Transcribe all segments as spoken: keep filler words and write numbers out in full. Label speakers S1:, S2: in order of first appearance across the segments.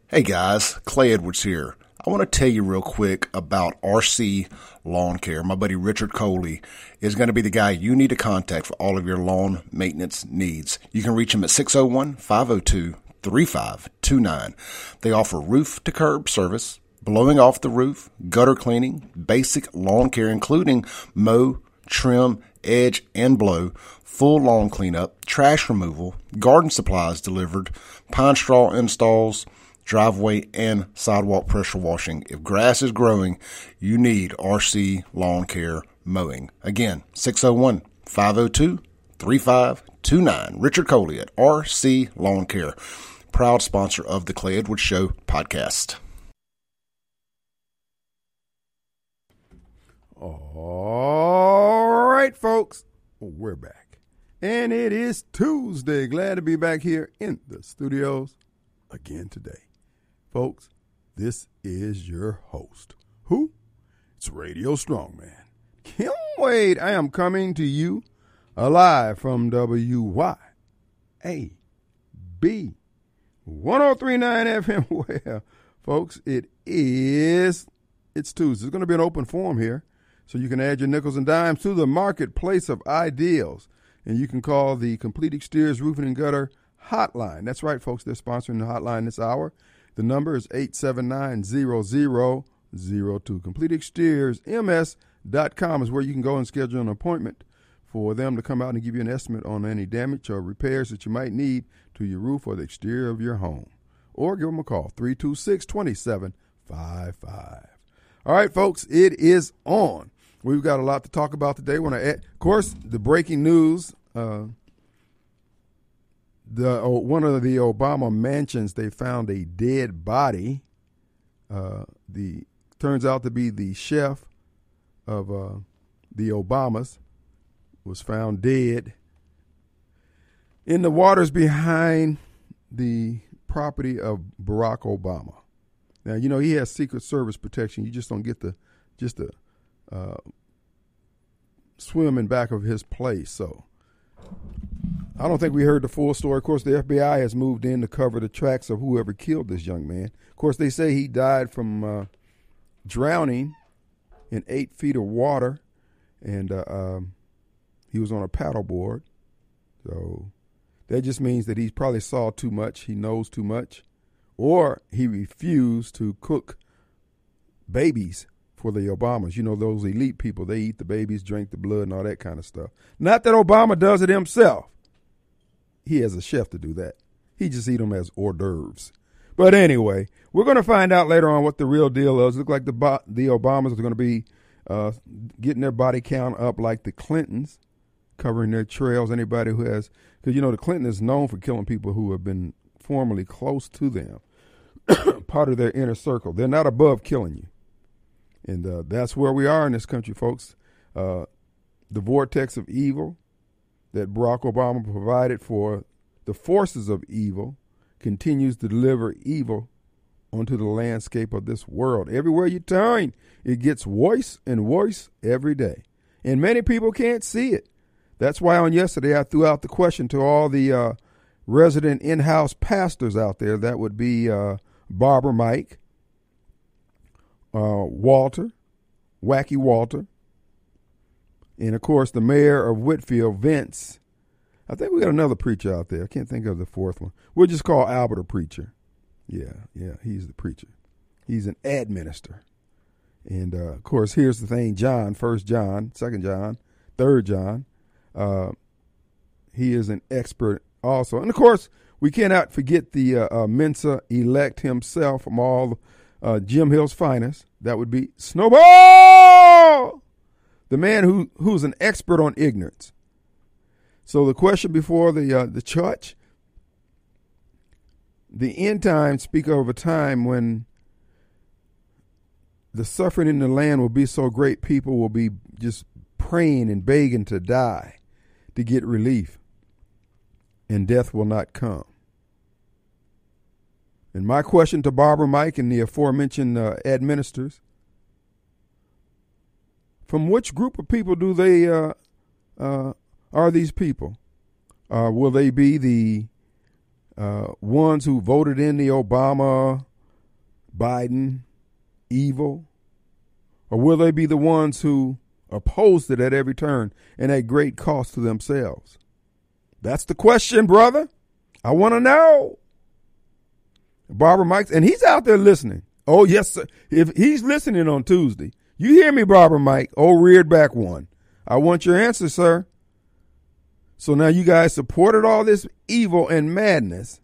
S1: Hey guys, Clay Edwards here. I want to tell you real quick about R C Lawn Care. My buddy Richard Coley is going to be the guy you need to contact for all of your lawn maintenance needs. You can reach him at six oh one, five oh two, three five two nine. They offer roof to curb service, blowing off the roof, gutter cleaning, basic lawn care including mow, trim, edge, and blow, full lawn cleanup, trash removal, garden supplies delivered, pine straw installs, driveway and sidewalk pressure washing. If grass is growing, you need R C Lawn Care Mowing. Again, six oh one, five oh two, three five two nine. Richard Coley at R C Lawn Care, proud sponsor of the Clay Edwards Show podcast.
S2: All right, folks, we're back. And it is Tuesday. Glad to be back here in the studios again today. Folks, this is your host. Who? It's Radio Strongman. Kim Wade. I am coming to you alive from W Y A B one oh three point nine F M. Well, folks, it is, it's Tuesday. It's going to be an open forum here, so you can add your nickels and dimes to the marketplace of ideals. And you can call the Complete Exteriors Roofing and Gutter hotline. That's right, folks. They're sponsoring the hotline this hour. The number is eight seven nine, zero zero zero two. Complete Exteriors M S dot com is where you can go and schedule an appointment for them to come out and give you an estimate on any damage or repairs that you might need to your roof or the exterior of your home. Or give them a call, three two six, two seven five five. All right, folks, it is on. We've got a lot to talk about today. When I, of course, the breaking news, uh, The oh, one of the Obama mansions, they found a dead body. Uh, the turns out to be the chef of uh, the Obamas was found dead in the waters behind the property of Barack Obama. Now, you know, he has Secret Service protection. You just don't get to just to uh, swim in back of his place. So I don't think we heard the full story. Of course, the F B I has moved in to cover the tracks of whoever killed this young man. Of course, they say he died from uh, drowning in eight feet of water, and uh, um, he was on a paddleboard. So that just means that he probably saw too much, he knows too much, or he refused to cook babies for the Obamas. You know, those elite people, they eat the babies, drink the blood, and all that kind of stuff. Not that Obama does it himself. He has a chef to do that. He just eat them as hors d'oeuvres. But anyway, we're going to find out later on what the real deal is. It looks like the bo- the Obamas are going to be uh, getting their body count up like the Clintons, covering their trails. Anybody who has, because, you know, the Clinton is known for killing people who have been formerly close to them, part of their inner circle. They're not above killing you. And uh, that's where we are in this country, folks. Uh, the vortex of evil that Barack Obama provided for the forces of evil continues to deliver evil onto the landscape of this world. Everywhere you turn, it gets worse and worse every day. And many people can't see it. That's why on yesterday I threw out the question to all the uh, resident in-house pastors out there. That would be uh, Barber Mike, uh, Walter, Wacky Walter, and, of course, the mayor of Whitfield, Vince. I think we got another preacher out there. I can't think of the fourth one. We'll just call Albert a preacher. Yeah, yeah, he's the preacher. He's an ad minister. And, uh, of course, here's the thing, John, First John, Second John, Third John. Uh, he is an expert also. And, of course, we cannot forget the uh, uh, Mensa elect himself from all uh, Jim Hill's finest. That would be Snowball! The man who who's an expert on ignorance. So the question before the uh, the church, the end times speak of a time when the suffering in the land will be so great, people will be just praying and begging to die to get relief, and death will not come. And my question to Barbara Mike and the aforementioned uh, administrators, from which group of people do they uh, uh, are these people? Uh, will they be the uh, ones who voted in the Obama Biden evil? Or will they be the ones who oppose it at every turn and at great cost to themselves? That's the question, brother. I want to know. Barbara Mike, and he's out there listening. Oh, yes, sir. If he's listening on Tuesday, you hear me, Barbara Mike, old reared back one. I want your answer, sir. So now you guys supported all this evil and madness,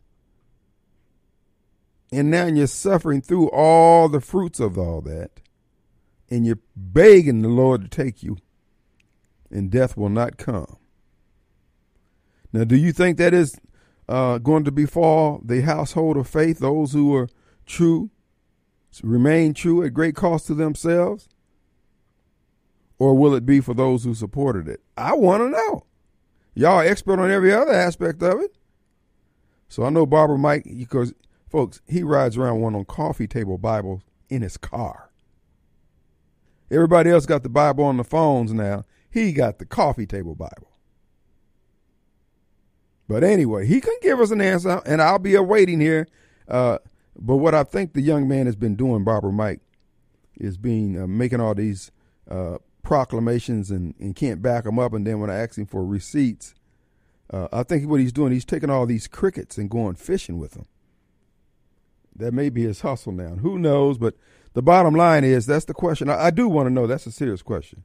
S2: and now you're suffering through all the fruits of all that, and you're begging the Lord to take you, and death will not come. Now, do you think that is uh, going to befall the household of faith, those who are true, remain true at great cost to themselves? Or will it be for those who supported it? I want to know. Y'all are expert on every other aspect of it. So I know Barbara Mike, because, folks, he rides around one on coffee table Bibles in his car. Everybody else got the Bible on the phones now. He got the coffee table Bible. But anyway, he can give us an answer, and I'll be awaiting here. Uh, but what I think the young man has been doing, Barbara Mike, is being uh, making all these uh, proclamations and, and can't back them up. And then when I ask him for receipts, uh, I think what he's doing, he's taking all these crickets and going fishing with them. That may be his hustle now. Who knows? But the bottom line is, that's the question. I, I do want to know. That's a serious question.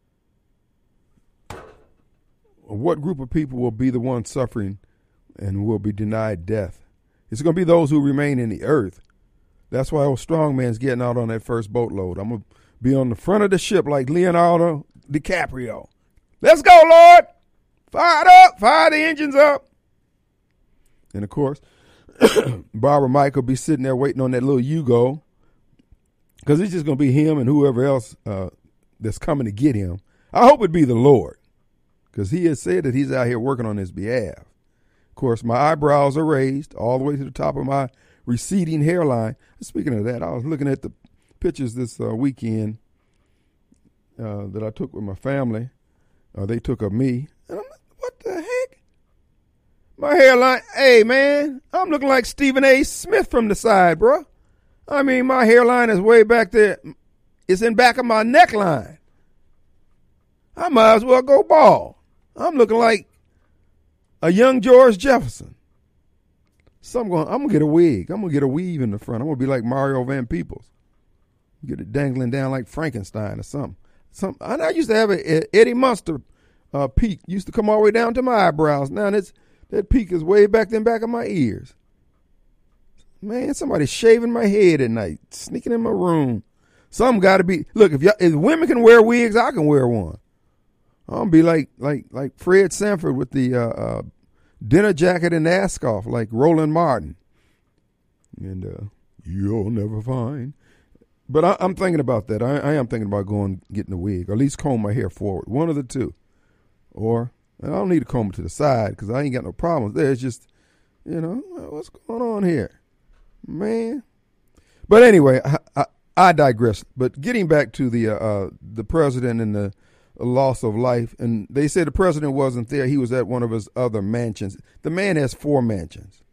S2: What group of people will be the ones suffering and will be denied death? It's going to be those who remain in the earth. That's why old strong man's getting out on that first boatload. I'm going to be on the front of the ship like Leonardo DiCaprio. Let's go, Lord. Fire it up. Fire the engines up. And, of course, Barbara Mike will be sitting there waiting on that little Yugo, because it's just going to be him and whoever else uh, that's coming to get him. I hope it be the Lord, because he has said that he's out here working on his behalf. Of course, my eyebrows are raised all the way to the top of my receding hairline. Speaking of that, I was looking at the pictures this uh, weekend uh, that I took with my family. Uh, they took of me. And I'm like, what the heck? My hairline, hey, man, I'm looking like Stephen A. Smith from the side, bro. I mean, my hairline is way back there. It's in back of my neckline. I might as well go bald. I'm looking like a young George Jefferson. So I'm going, I'm going to get a wig. I'm going to get a weave in the front. I'm going to be like Mario Van Peebles. Get it dangling down like Frankenstein or something. Some, I used to have an Eddie Munster uh, peak. Used to come all the way down to my eyebrows. Now that's, that peak is way back then back of my ears. Man, somebody's shaving my head at night, sneaking in my room. Some got to be, look, if, y'all, if women can wear wigs, I can wear one. I'm going to be like like like Fred Sanford with the uh, uh, dinner jacket and ask off, like Roland Martin. And uh, you'll never find. But I, I'm thinking about that. I, I am thinking about going getting a wig, or at least comb my hair forward. One of the two. Or, I don't need to comb it to the side because I ain't got no problems there. It's just, you know, what's going on here? Man. But anyway, I, I, I digress. But getting back to the uh, uh, the president and the loss of life, and they said the president wasn't there. He was at one of his other mansions. The man has four mansions.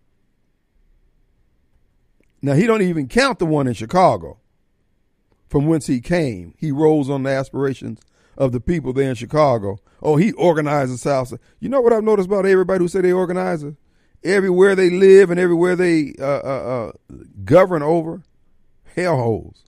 S2: Now, he don't even count the one in Chicago, from whence he came. He rose on the aspirations of the people there in Chicago. Oh, he organized the South. You know what I've noticed about everybody who say they organize it? Everywhere they live and everywhere they uh, uh, uh, govern over, hellholes.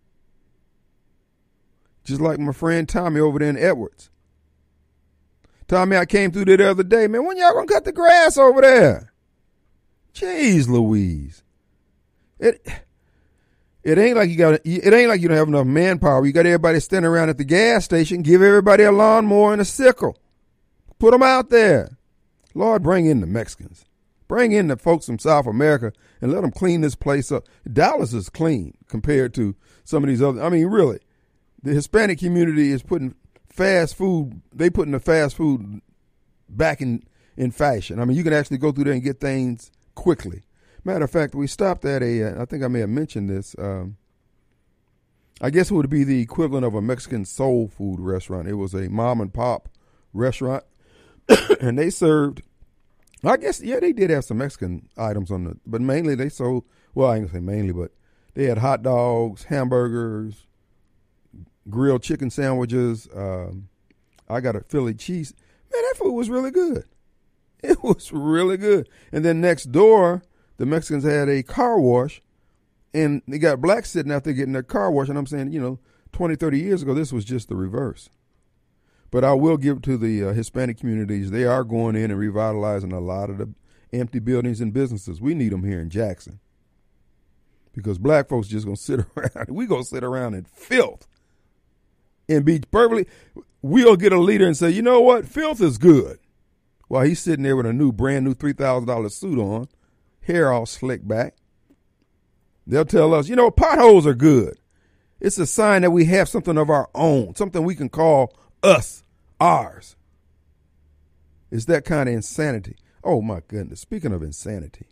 S2: Just like my friend Tommy over there in Edwards. Tommy, I came through there the other day. Man, when y'all gonna cut the grass over there? Jeez Louise. It it ain't like you got it ain't like you don't have enough manpower. You got everybody standing around at the gas station. Give everybody a lawnmower and a sickle. Put them out there. Lord, bring in the Mexicans. Bring in the folks from South America and let them clean this place up. Dallas is clean compared to some of these other. I mean, really. The Hispanic community is putting fast food, they putting the fast food back in, in fashion. I mean, you can actually go through there and get things quickly. Matter of fact, we stopped at a, I think I may have mentioned this, um, I guess it would be the equivalent of a Mexican soul food restaurant. It was a mom and pop restaurant, and they served, I guess, yeah, they did have some Mexican items on the, but mainly they sold, well, I ain't gonna say mainly, but They had hot dogs, hamburgers, grilled chicken sandwiches. Um, I got a Philly cheese. Man, that food was really good. It was really good. And then next door, the Mexicans had a car wash, and they got blacks sitting out there getting their car wash. And I'm saying, you know, twenty, thirty years ago, this was just the reverse. But I will give it to the uh, Hispanic communities. They are going in and revitalizing a lot of the empty buildings and businesses. We need them here in Jackson. Because black folks just going to sit around. We going to sit around in filth. And be perfectly, we'll get a leader and say, you know what, filth is good. While he's sitting there with a new, brand new three thousand dollars suit on, hair all slicked back. They'll tell us, you know, potholes are good. It's a sign that we have something of our own, something we can call us, ours. It's that kind of insanity. Oh, my goodness. Speaking of insanity.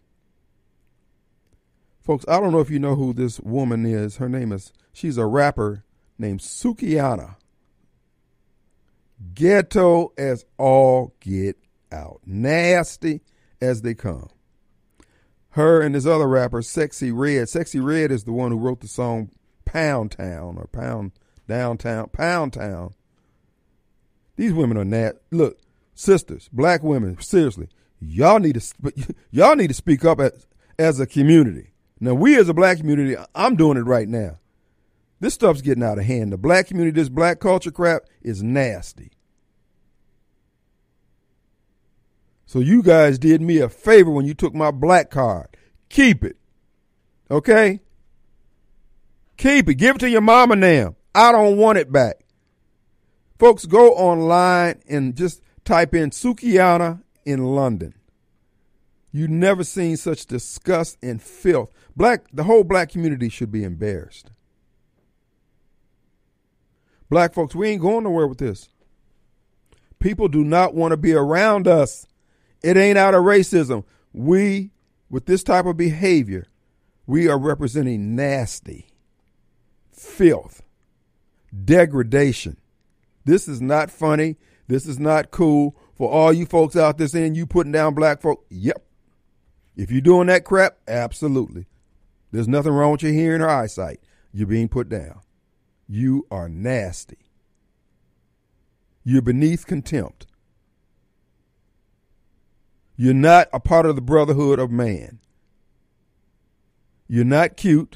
S2: Folks, I don't know if you know who this woman is. Her name is, she's a rapper named Sukihana. Ghetto as all get out. Nasty as they come. Her and this other rapper, Sexy Red. Sexy Red is the one who wrote the song Pound Town or Pound Downtown, Pound Town. These women are nat. Look, sisters, black women, seriously, y'all need to y'all need to speak up as, as a community. Now, we as a black community, I'm doing it right now. This stuff's getting out of hand. The black community, this black culture crap is nasty. So you guys did me a favor when you took my black card. Keep it. Okay? Keep it. Give it to your mama now. I don't want it back. Folks, go online and just type in Sukihana in London. You've never seen such disgust and filth. Black, the whole black community should be embarrassed. Black folks, we ain't going nowhere with this. People do not want to be around us. It ain't out of racism. We, with this type of behavior, we are representing nasty, filth, degradation. This is not funny. This is not cool. For all you folks out there saying you putting down black folk, yep. If you're doing that crap, absolutely. There's nothing wrong with your hearing or eyesight. You're being put down. You are nasty. You're beneath contempt. You're not a part of the brotherhood of man. You're not cute.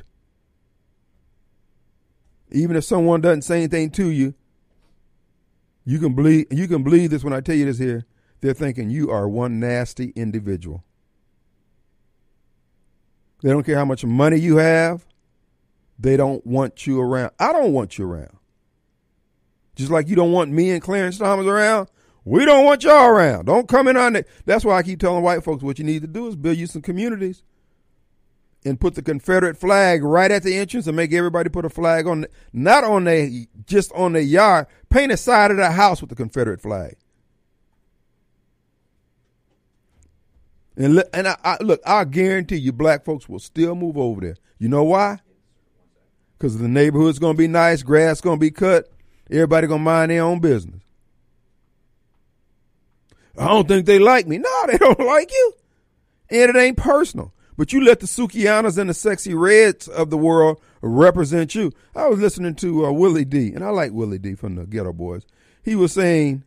S2: Even if someone doesn't say anything to you, you can believe you can believe this when I tell you this here. They're thinking you are one nasty individual. They don't care how much money you have. They don't want you around. I don't want you around. Just like you don't want me and Clarence Thomas around, we don't want y'all around. Don't come in on it. That's why I keep telling white folks what you need to do is build you some communities and put the Confederate flag right at the entrance and make everybody put a flag on, the, not on their, just on their yard. Paint a side of the house with the Confederate flag. And, and I, I, look, I guarantee you black folks will still move over there. You know why? Because the neighborhood's going to be nice, grass going to be cut, everybody going to mind their own business. I don't think they like me. No, they don't like you. And it ain't personal. But you let the Sukihanas and the Sexy Reds of the world represent you. I was listening to uh, Willie D, and I like Willie D from the Ghetto Boys. He was saying,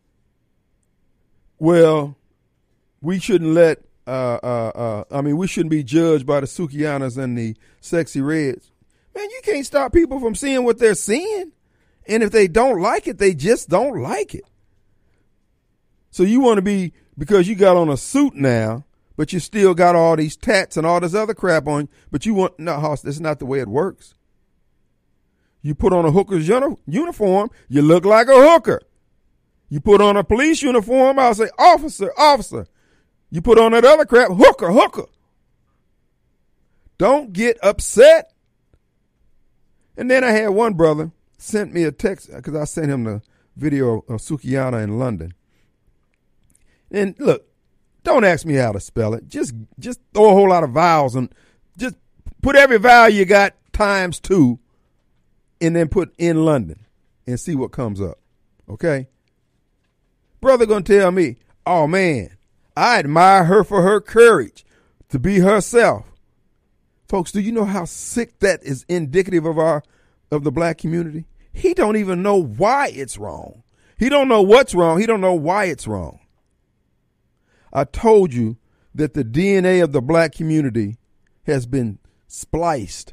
S2: well, we shouldn't let, uh, uh, uh, I mean, we shouldn't be judged by the Sukihanas and the Sexy Reds. Man, you can't stop people from seeing what they're seeing. And if they don't like it, they just don't like it. So you want to be, because you got on a suit now, but you still got all these tats and all this other crap on, but you want, no, Hoss, that's not the way it works. You put on a hooker's uni- uniform, you look like a hooker. You put on a police uniform, I'll say, officer, officer. You put on that other crap, hooker, hooker. Don't get upset. And then I had one brother sent me a text, because I sent him the video of Sukihana in London. And look, don't ask me how to spell it. Just just throw a whole lot of vowels and just put every vowel you got times two and then put in London and see what comes up. Okay? Brother gonna tell me, oh man, I admire her for her courage to be herself. Folks, do you know how sick that is indicative of our of the black community? He don't even know why it's wrong. He don't know what's wrong. He don't know why it's wrong. I told you that the D N A of the black community has been spliced.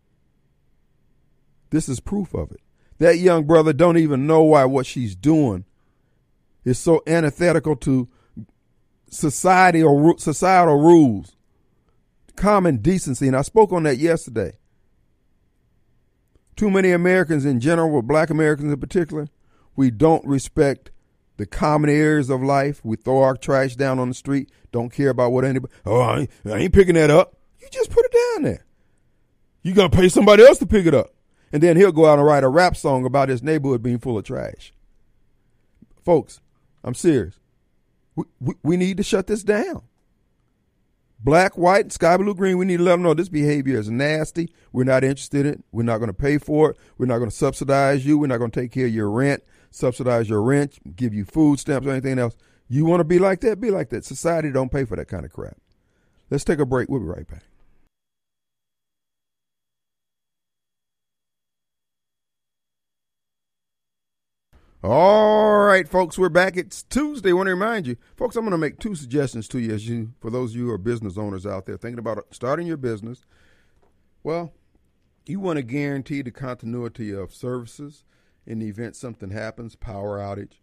S2: This is proof of it. That young brother don't even know why what she's doing is so antithetical to society or societal rules, common decency. And I spoke on that yesterday. Too many Americans in general, but black Americans in particular, we don't respect the common areas of life. We throw our trash down on the street, don't care about what anybody, oh, I ain't, I ain't picking that up. You just put it down there. You got to pay somebody else to pick it up. And then he'll go out and write a rap song about his neighborhood being full of trash. Folks, I'm serious. We, we, we need to shut this down. Black, white, sky blue, green, we need to let them know this behavior is nasty. We're not interested in it. We're not going to pay for it. We're not going to subsidize you. We're not going to take care of your rent, subsidize your rent, give you food stamps or anything else. You want to be like that? Be like that. Society don't pay for that kind of crap. Let's take a break. We'll be right back. All right, folks, we're back. It's Tuesday. I want to remind you, folks, I'm going to make two suggestions to you as you, for those of you who are business owners out there thinking about starting your business. Well, you want to guarantee the continuity of services in the event something happens, power outage,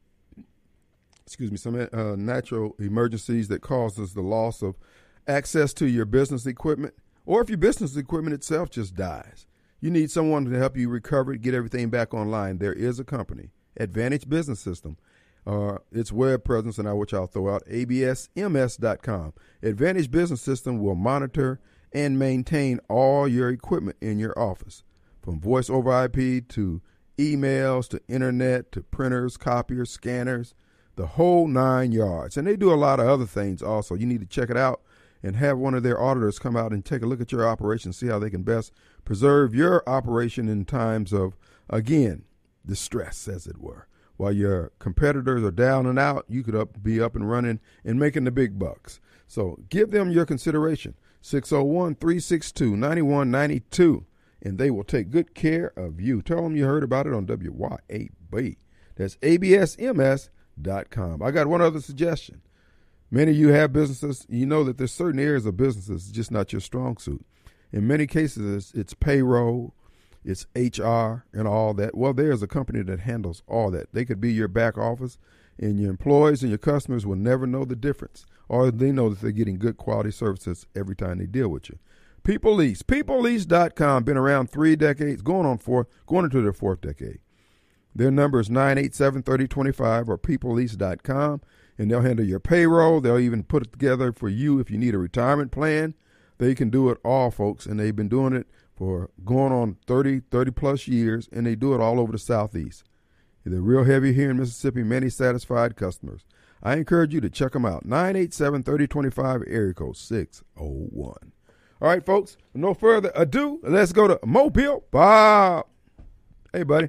S2: excuse me, some uh, natural emergencies that causes the loss of access to your business equipment, or if your business equipment itself just dies. You need someone to help you recover it, get everything back online. There is a company, Advantage Business System, uh, its web presence, and I which I'll throw out, A B S M S dot com. Advantage Business System will monitor and maintain all your equipment in your office, from voice over I P to emails to internet to printers, copiers, scanners, the whole nine yards. And they do a lot of other things also. You need to check it out and have one of their auditors come out and take a look at your operation, see how they can best preserve your operation in times of, again, distress, as it were. While your competitors are down and out, you could up, be up and running and making the big bucks. So give them your consideration, six oh one, three six two, nine one nine two, and they will take good care of you. Tell them you heard about it on W Y A B. That's A B S M S dot com. I got one other suggestion. Many of you have businesses. You know that there's certain areas of businesses just not your strong suit. In many cases, it's, it's payroll, it's H R and all that. Well, there's a company that handles all that. They could be your back office, and your employees and your customers will never know the difference, or they know that they're getting good quality services every time they deal with you. People Lease, people lease dot com, been around three decades, going on four, going into their fourth decade. Their number is nine eight seven, three oh two five or people lease dot com, and they'll handle your payroll. They'll even put it together for you if you need a retirement plan. They can do it all, folks, and they've been doing it for going on thirty, thirty plus years, and they do it all over the Southeast. They're real heavy here in Mississippi, many satisfied customers. I encourage you to check them out. nine eight seven, three oh two five, area code six oh one. All right, folks, no further ado, let's go to Mobile Bob. Hey, buddy.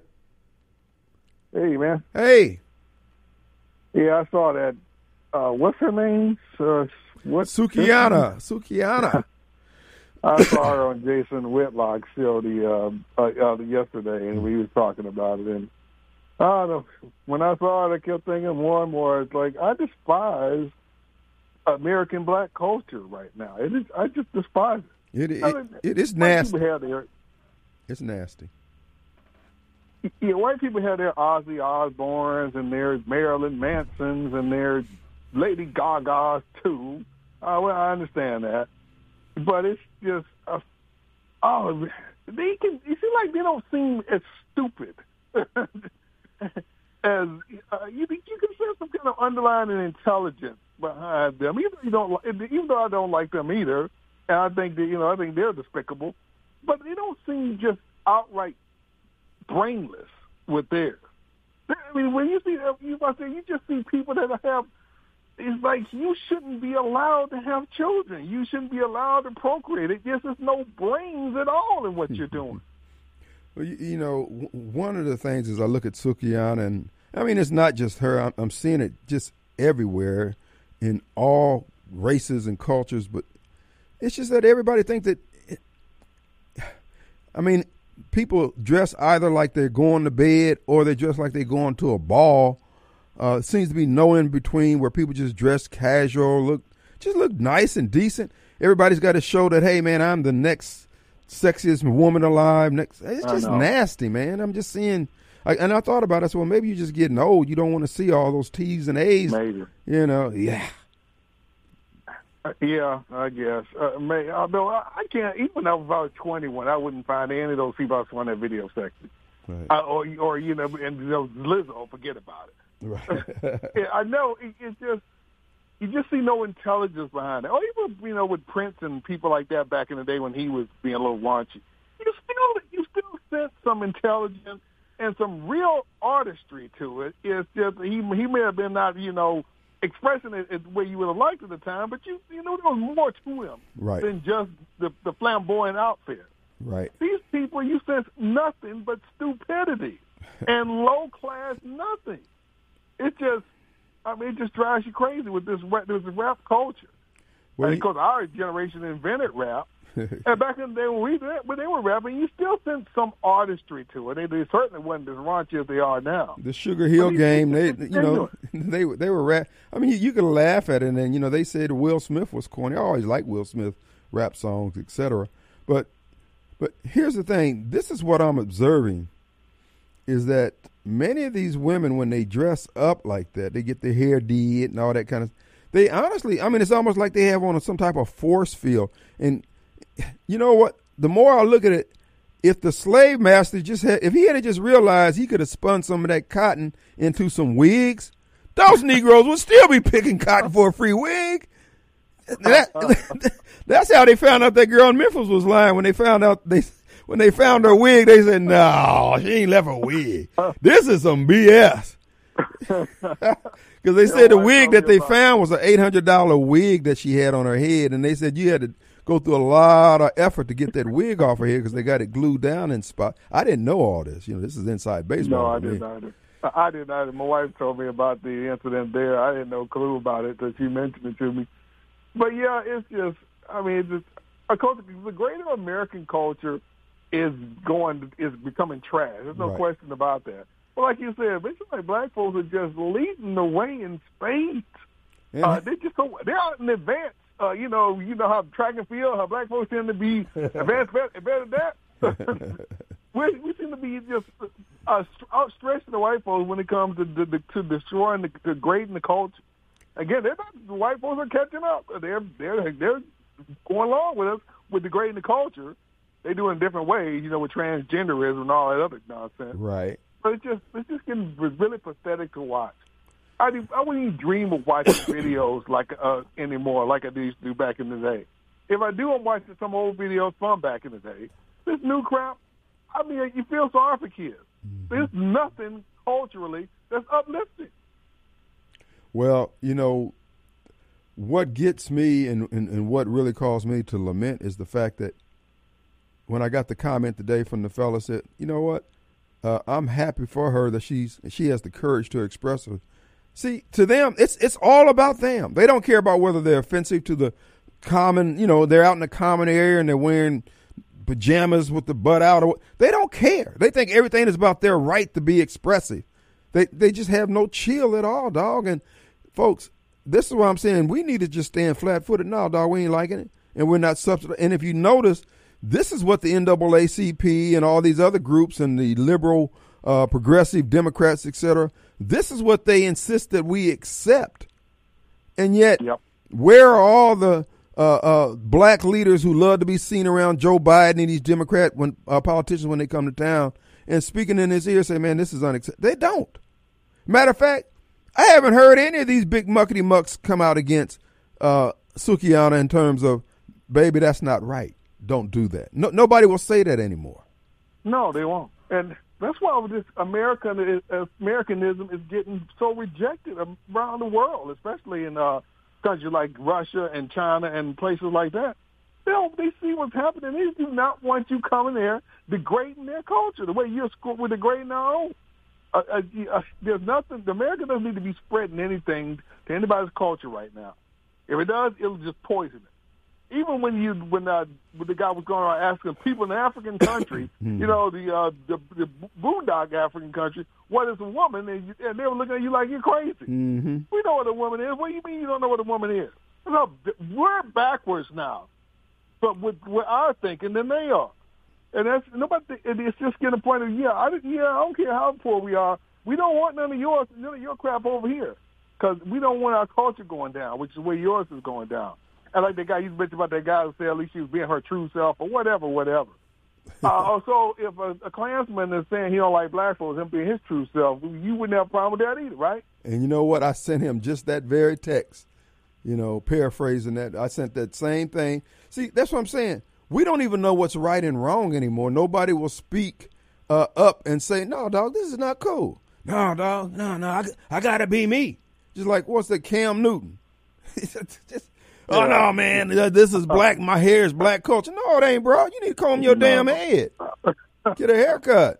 S3: Hey, man.
S2: Hey.
S3: Yeah, I saw that. Uh, what's her name? Uh, what?
S2: Sukiana. Sukiana.
S3: I saw her on Jason Whitlock's show the uh, uh, uh, yesterday, and we was talking about it. And I don't know, when I saw it, I kept thinking more and more. It's like I despise American black culture right now. It is. I just despise it.
S2: It it,
S3: I mean,
S2: it is
S3: white
S2: nasty.
S3: people have their,
S2: It's nasty.
S3: yeah, white people have their Ozzy Osbournes and their Marilyn Mansons and their Lady Gagas too. Uh, well, I understand that. But it's just, uh, oh, they can. You seem like they don't seem as stupid as uh, you. You can sense some kind of underlying intelligence behind them. Even though you don't, even though I don't like them either, and I think that you know, I think they're despicable. But they don't seem just outright brainless with theirs. I mean, when you see, you must say, you just see people that have. It's like you shouldn't be allowed to have children. You shouldn't be allowed to procreate. It just is no brains at all in what you're doing.
S2: Well, you, you know, w- one of the things is I look at Sukiana, and I mean, it's not just her. I'm, I'm seeing it just everywhere in all races and cultures, but it's just that everybody thinks that I mean, people dress either like they're going to bed or they dress like they're going to a ball. Uh, seems to be no in between where people just dress casual, look just look nice and decent. Everybody's got to show that, hey, man, I'm the next sexiest woman alive. Next, it's just nasty, man. I'm just seeing, I, and I thought about it. I said, well, maybe you're just getting old. You don't want to see all those T's and A's.
S3: Maybe.
S2: You know, yeah.
S3: Uh, yeah, I guess. Uh, may, although I, I can't, even if I was twenty-one, I wouldn't find any of those people I saw on that video sexy.
S2: Right.
S3: Uh, or, or, you know, and you know, Lizzo, forget about it.
S2: Right.
S3: Yeah, I know. It, it's just, you just see no intelligence behind it. Or even, you know, with Prince and people like that back in the day when he was being a little raunchy, you still, you still sense some intelligence and some real artistry to it. It's just, he, he may have been not, you know, expressing it the way you would have liked at the time, but you, you know, there was more to him
S2: right.
S3: than just the, the flamboyant outfit.
S2: Right.
S3: These people, you sense nothing but stupidity and low class nothing. It just, I mean, it just drives you crazy with this rap, this rap culture.
S2: Well,
S3: and because our generation invented rap, and back in the day when we when they were rapping, you still sense some artistry to it. They, they certainly wasn't as raunchy as they are now.
S2: The Sugar Hill
S3: I mean,
S2: game, they
S3: it's
S2: you know they they were rap. I mean, you, you could laugh at it, and you know they said Will Smith was corny. I always liked Will Smith rap songs, et cetera. But but here's the thing: this is what I'm observing, is that many of these women, when they dress up like that, they get their hair did and all that kind of. They honestly, I mean, it's almost like they have on some type of force field. And you know what? The more I look at it, if the slave master just had, if he had just realized he could have spun some of that cotton into some wigs, those Negroes would still be picking cotton for a free wig. That, that's how they found out that girl in Memphis was lying. When they found out they, when they found her wig, they said, "No, she ain't left her wig. This is some B S." Because they said the wig that they found was an eight hundred dollar wig that she had on her head, and they said you had to go through a lot of effort to get that wig off her head because they got it glued down in spot. I didn't know all this. You know, this is inside baseball.
S3: No, I didn't either. I didn't either. My wife told me about the incident there. I didn't know a clue about it until she mentioned it to me. But yeah, it's just, I mean, it's just, a culture, the greater American culture is going, is becoming trash. There's no
S2: right.
S3: question about that. But like you said, basically like black folks are just leading the way in spades.
S2: Yeah.
S3: Uh, they just so, they're out in advance. Uh, you know, you know how track and field, how black folks tend to be advanced better, better than that. we, we seem to be just uh, outstretching the white folks when it comes to to, to destroying, the, degrading the culture. Again, they're not, the white folks are catching up. They're they're they're going along with us with degrading the culture. They do it in different ways, you know, with transgenderism and all that other nonsense.
S2: Right.
S3: But it's just it's just getting really pathetic to watch. I do, I wouldn't even dream of watching videos like uh, anymore, like I used to do back in the day. If I do, I'm watching some old videos from back in the day. This new crap, I mean, you feel sorry for kids. Mm-hmm. There's nothing culturally that's uplifting.
S2: Well, you know, what gets me and, and, and what really caused me to lament is the fact that when I got the comment today from the fella said, you know what, uh, I'm happy for her that she's she has the courage to express her. See, to them, it's it's all about them. They don't care about whether they're offensive to the common, you know, they're out in the common area and they're wearing pajamas with the butt out. Or, they don't care. They think everything is about their right to be expressive. They they just have no chill at all, dog. And folks, this is what I'm saying. We need to just stand flat-footed. No, dog, we ain't liking it. And we're not subsidizing. And if you notice, this is what the N double A C P and all these other groups and the liberal, uh, progressive Democrats, et cetera, this is what they insist that we accept. And yet, yep. where are all the uh, uh, black leaders who love to be seen around Joe Biden and these Democrat when, uh, politicians when they come to town and speaking in his ear say, man, this is unacceptable? They don't. Matter of fact, I haven't heard any of these big muckety mucks come out against uh, Sukihana in terms of, baby, that's not right. Don't do that. No, nobody will say that anymore.
S3: No, they won't. And that's why this American Americanism is getting so rejected around the world, especially in uh, countries like Russia and China and places like that. They don't, they see what's happening. They do not want you coming there degrading their culture the way you're we're degrading our own. Uh, uh, uh, there's nothing. The America doesn't need to be spreading anything to anybody's culture right now. If it does, it'll just poison it. even when you when uh, when the guy was going around asking people in the African country, you know, the, uh, the the boondock African country, what is a woman, and, you, and they were looking at you like you're crazy.
S2: Mm-hmm.
S3: We know what a woman is. What do you mean you don't know what a woman is? No, we're backwards now, but with, with our thinking than they are, and that's nobody. It's just getting a point of yeah, I yeah, I don't care how poor we are. We don't want none of yours, none of your crap over here, because we don't want our culture going down, which is where yours is going down. And like that guy, you mentioned about that guy who said at least she was being her true self or whatever, whatever. uh, so if a, a Klansman is saying he don't like black folks, him being his true self, you wouldn't have a problem with that either, right?
S2: And you know what? I sent him just that very text, you know, paraphrasing that. I sent that same thing. See, that's what I'm saying. We don't even know what's right and wrong anymore. Nobody will speak uh, up and say, no, dog, this is not cool. No, dog, no, no, I, I got to be me. Just like, what's that, Cam Newton? just, oh, yeah. No, man, this is black. My hair is black culture. No, it ain't, bro. You need to comb your no. damn head. Get a haircut.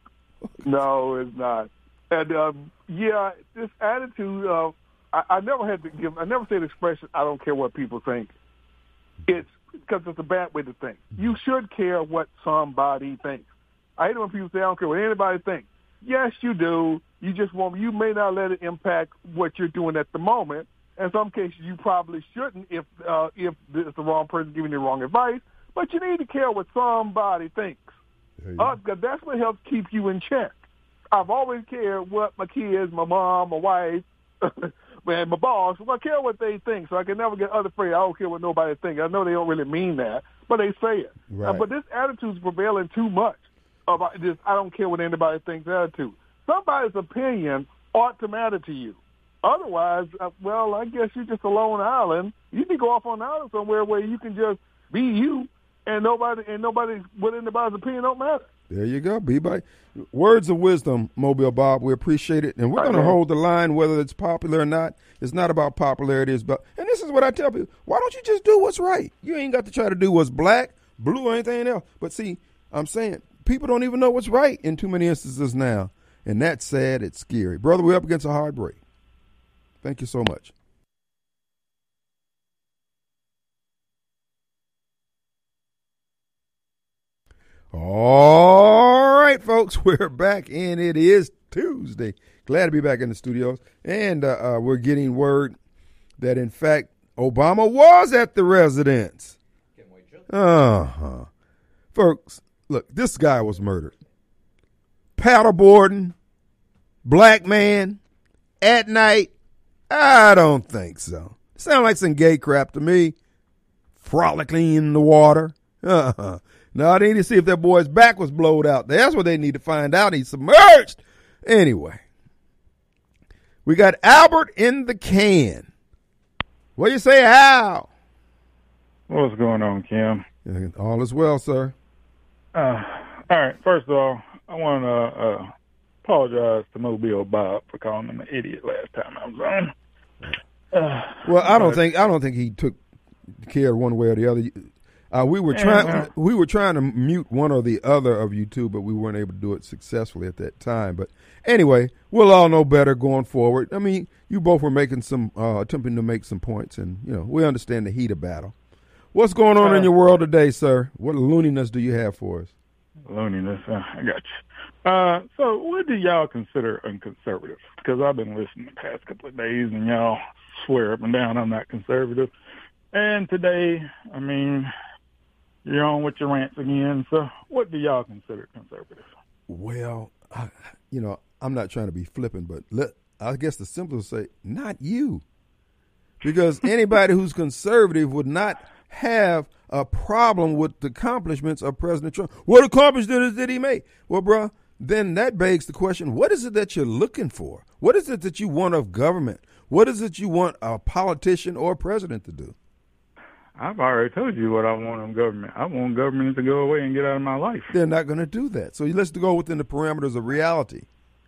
S3: No, it's not. And, um, yeah, this attitude of, I, I never had to give, I never say the expression, I don't care what people think. It's because it's a bad way to think. You should care what somebody thinks. I hate it when people say, I don't care what anybody thinks. Yes, you do. You just want, you may not let it impact what you're doing at the moment. In some cases, you probably shouldn't if uh, if it's the wrong person giving you the wrong advice. But you need to care what somebody thinks. Uh, that's what helps keep you in check. I've always cared what my kids, my mom, my wife, and my boss. I care what they think, so I can never get unafraid. I don't care what nobody thinks. I know they don't really mean that, but they say it.
S2: Right.
S3: Uh, but this attitude is prevailing too much. About this, I don't care what anybody thinks attitude. Somebody's opinion ought to matter to you. Otherwise, uh, well, I guess you're just a lone island. You need to go off on an island somewhere where you can just be you, and nobody and nobody what anybody's opinion don't matter.
S2: There you go. Be by words of wisdom, Mobile Bob. We appreciate it, and we're going to hold the line whether it's popular or not. It's not about popularity. It's about, and this is what I tell people: why don't you just do what's right? You ain't got to try to do what's black, blue, or anything else. But see, I'm saying people don't even know what's right in too many instances now, and that's sad. It's scary, brother. We're up against a hard break. Thank you so much. All right, folks, we're back, and it is Tuesday. Glad to be back in the studios. And uh, uh, we're getting word that, in fact, Obama was at the residence. Uh-huh. Folks, look, this guy was murdered. Paddleboarding, black man, at night. I don't think so. Sound like some gay crap to me. Frolicking in the water. Uh-huh. Now, they need to see if that boy's back was blowed out. That's what they need to find out. He's submerged. Anyway, we got Albert in the can. What do you say, Al?
S4: What's going on, Kim?
S2: All is well, sir.
S4: Uh, all right. First of all, I want to uh, apologize to Mobile Bob for calling him an idiot last time I was on.
S2: Uh, well, I don't think I don't think he took care one way or the other. Uh, we were trying uh, we were trying to mute one or the other of you two, but we weren't able to do it successfully at that time. But anyway, we'll all know better going forward. I mean, you both were making some uh, attempting to make some points, and you know we understand the heat of battle. What's going on uh, in your world today, sir? What looniness do you have for us?
S4: Looniness, uh, I got you. Uh, so, what do y'all consider unconservative? Because I've been listening the past couple of days, and y'all swear up and down I'm not conservative. And today, I mean, you're on with your rants again. So what do y'all consider conservative?
S2: Well, I, you know, I'm not trying to be flippant, but let, I guess the simplest say, not you. Because anybody who's conservative would not have a problem with the accomplishments of President Trump. What accomplishments did he make? Well, bro, then that begs the question, what is it that you're looking for? What is it that you want of government? What is it you want a politician or a president to do?
S4: I've already told you what I want of government. I want government to go away and get out of my life.
S2: They're not going to do that. So let's go within the parameters of reality.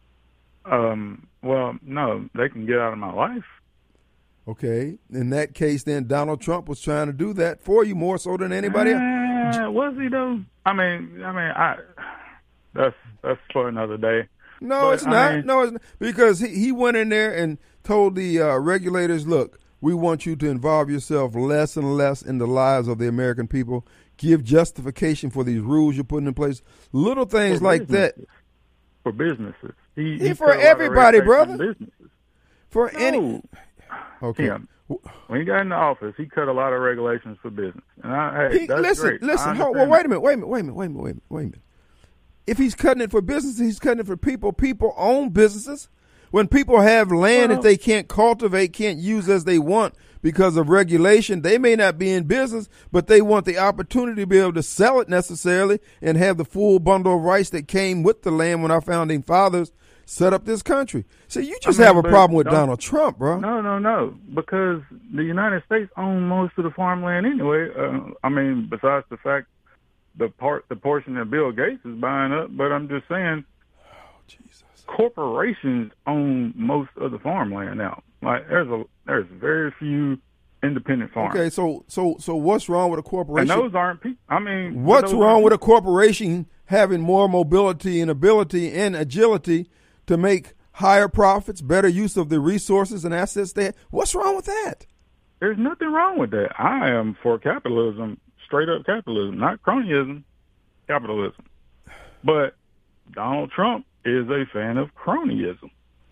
S4: Um. Well, no, they can get out of my life.
S2: Okay. In that case, then Donald Trump was trying to do that for you more so than anybody else.
S4: Uh, was he though? I mean, I mean, I. That's that's for another day.
S2: No, but, it's not. I mean, no, it's not. Because he, he went in there and told the uh, regulators, look, We want you to involve yourself less and less in the lives of the American people. Give justification for these rules you're putting in place. Little things
S4: For
S2: like that.
S4: businesses. For businesses. He,
S2: Yeah,
S4: he
S2: for
S4: put a lot of
S2: everybody,
S4: red tape on
S2: brother.
S4: Businesses.
S2: For
S4: No.
S2: any. Okay.
S4: Tim, when he got in the office, he cut a lot of regulations for business. And I, hey,
S2: He,
S4: that's
S2: listen,
S4: great.
S2: listen.
S4: I
S2: Hold, well,
S4: understand
S2: wait a minute. Wait a minute. Wait a minute. Wait a minute. Wait a minute. Wait a minute. If he's cutting it for business, he's cutting it for people. People own businesses. When people have land
S4: Well-
S2: that they can't cultivate, can't use as they want because of regulation, they may not be in business, but they want the opportunity to be able to sell it necessarily and have the full bundle of rights that came with the land when our founding fathers set up this country. So you just
S4: I mean,
S2: have a
S4: but
S2: problem with
S4: don't-
S2: Donald Trump, bro.
S4: No, no, no. Because the United States own most of the farmland anyway. Uh, I mean, besides the fact the part, the portion that Bill Gates is buying up. But I'm just saying,
S2: Oh, Jesus.
S4: corporations own most of the farmland now. Like there's a there's very few independent farms.
S2: Okay, so so so what's wrong with a
S4: and
S2: corporation?
S4: those aren't people. I mean,
S2: What's
S4: those
S2: wrong
S4: aren't
S2: with a corporation having more mobility and ability and agility to make higher profits, better use of the resources and assets they have? What's wrong with that?
S4: There's nothing wrong with that. I am for capitalism, straight up capitalism, not cronyism, capitalism. But Donald Trump is a fan of cronyism,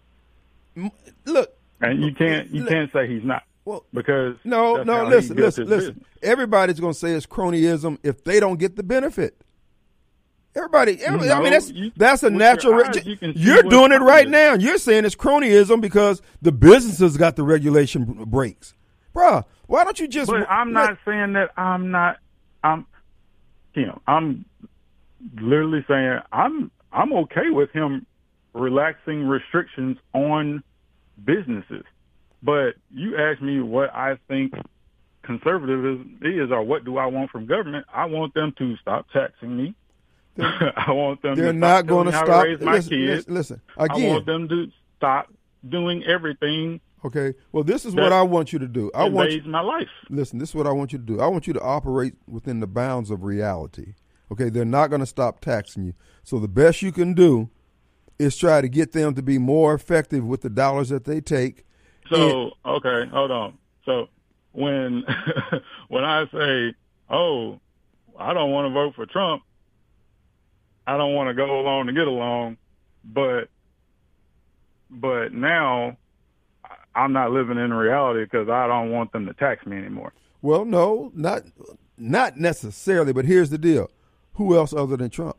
S2: M- Look,
S4: and you can't you
S2: Look-
S4: can't say he's not
S2: well,
S4: because
S2: no,
S4: that's
S2: no,
S4: how he
S2: listen,
S4: built
S2: listen,
S4: his
S2: listen.
S4: business.
S2: Everybody's going to say it's cronyism if they don't get the benefit. Everybody, everybody I
S4: know,
S2: mean, that's
S4: you-
S2: that's a
S4: with your
S2: natural.
S4: eyes, you can see
S2: You're
S4: what's
S2: doing it right
S4: cronyism.
S2: now. You're saying it's cronyism because the businesses got the regulation b- breaks, bruh. Why don't you just?
S4: But I'm not saying that I'm not. I'm, you know, I'm literally saying I'm I'm okay with him relaxing restrictions on businesses. But you asked me what I think conservatism is, or what do I want from government? I want them to stop taxing me. I want them.
S2: They're
S4: to
S2: not
S4: stop
S2: going to
S4: telling me how
S2: stop.
S4: to raise my
S2: Listen,
S4: kids.
S2: listen, listen.
S4: I
S2: Again,
S4: want them to stop doing everything
S2: okay. Well, this is
S4: that
S2: what I want you to do. I want you,
S4: invades my life.
S2: listen. This is what I want you to do. I want you to operate within the bounds of reality. Okay, they're not going to stop taxing you. So the best you can do is try to get them to be more effective with the dollars that they take.
S4: So okay, hold on. So when when I say, "Oh, I don't want to vote for Trump," I don't want to go along to get along, but but now I'm not living in reality because I don't want them to tax me anymore.
S2: Well, no, not not necessarily. But here's the deal: who else other than Trump?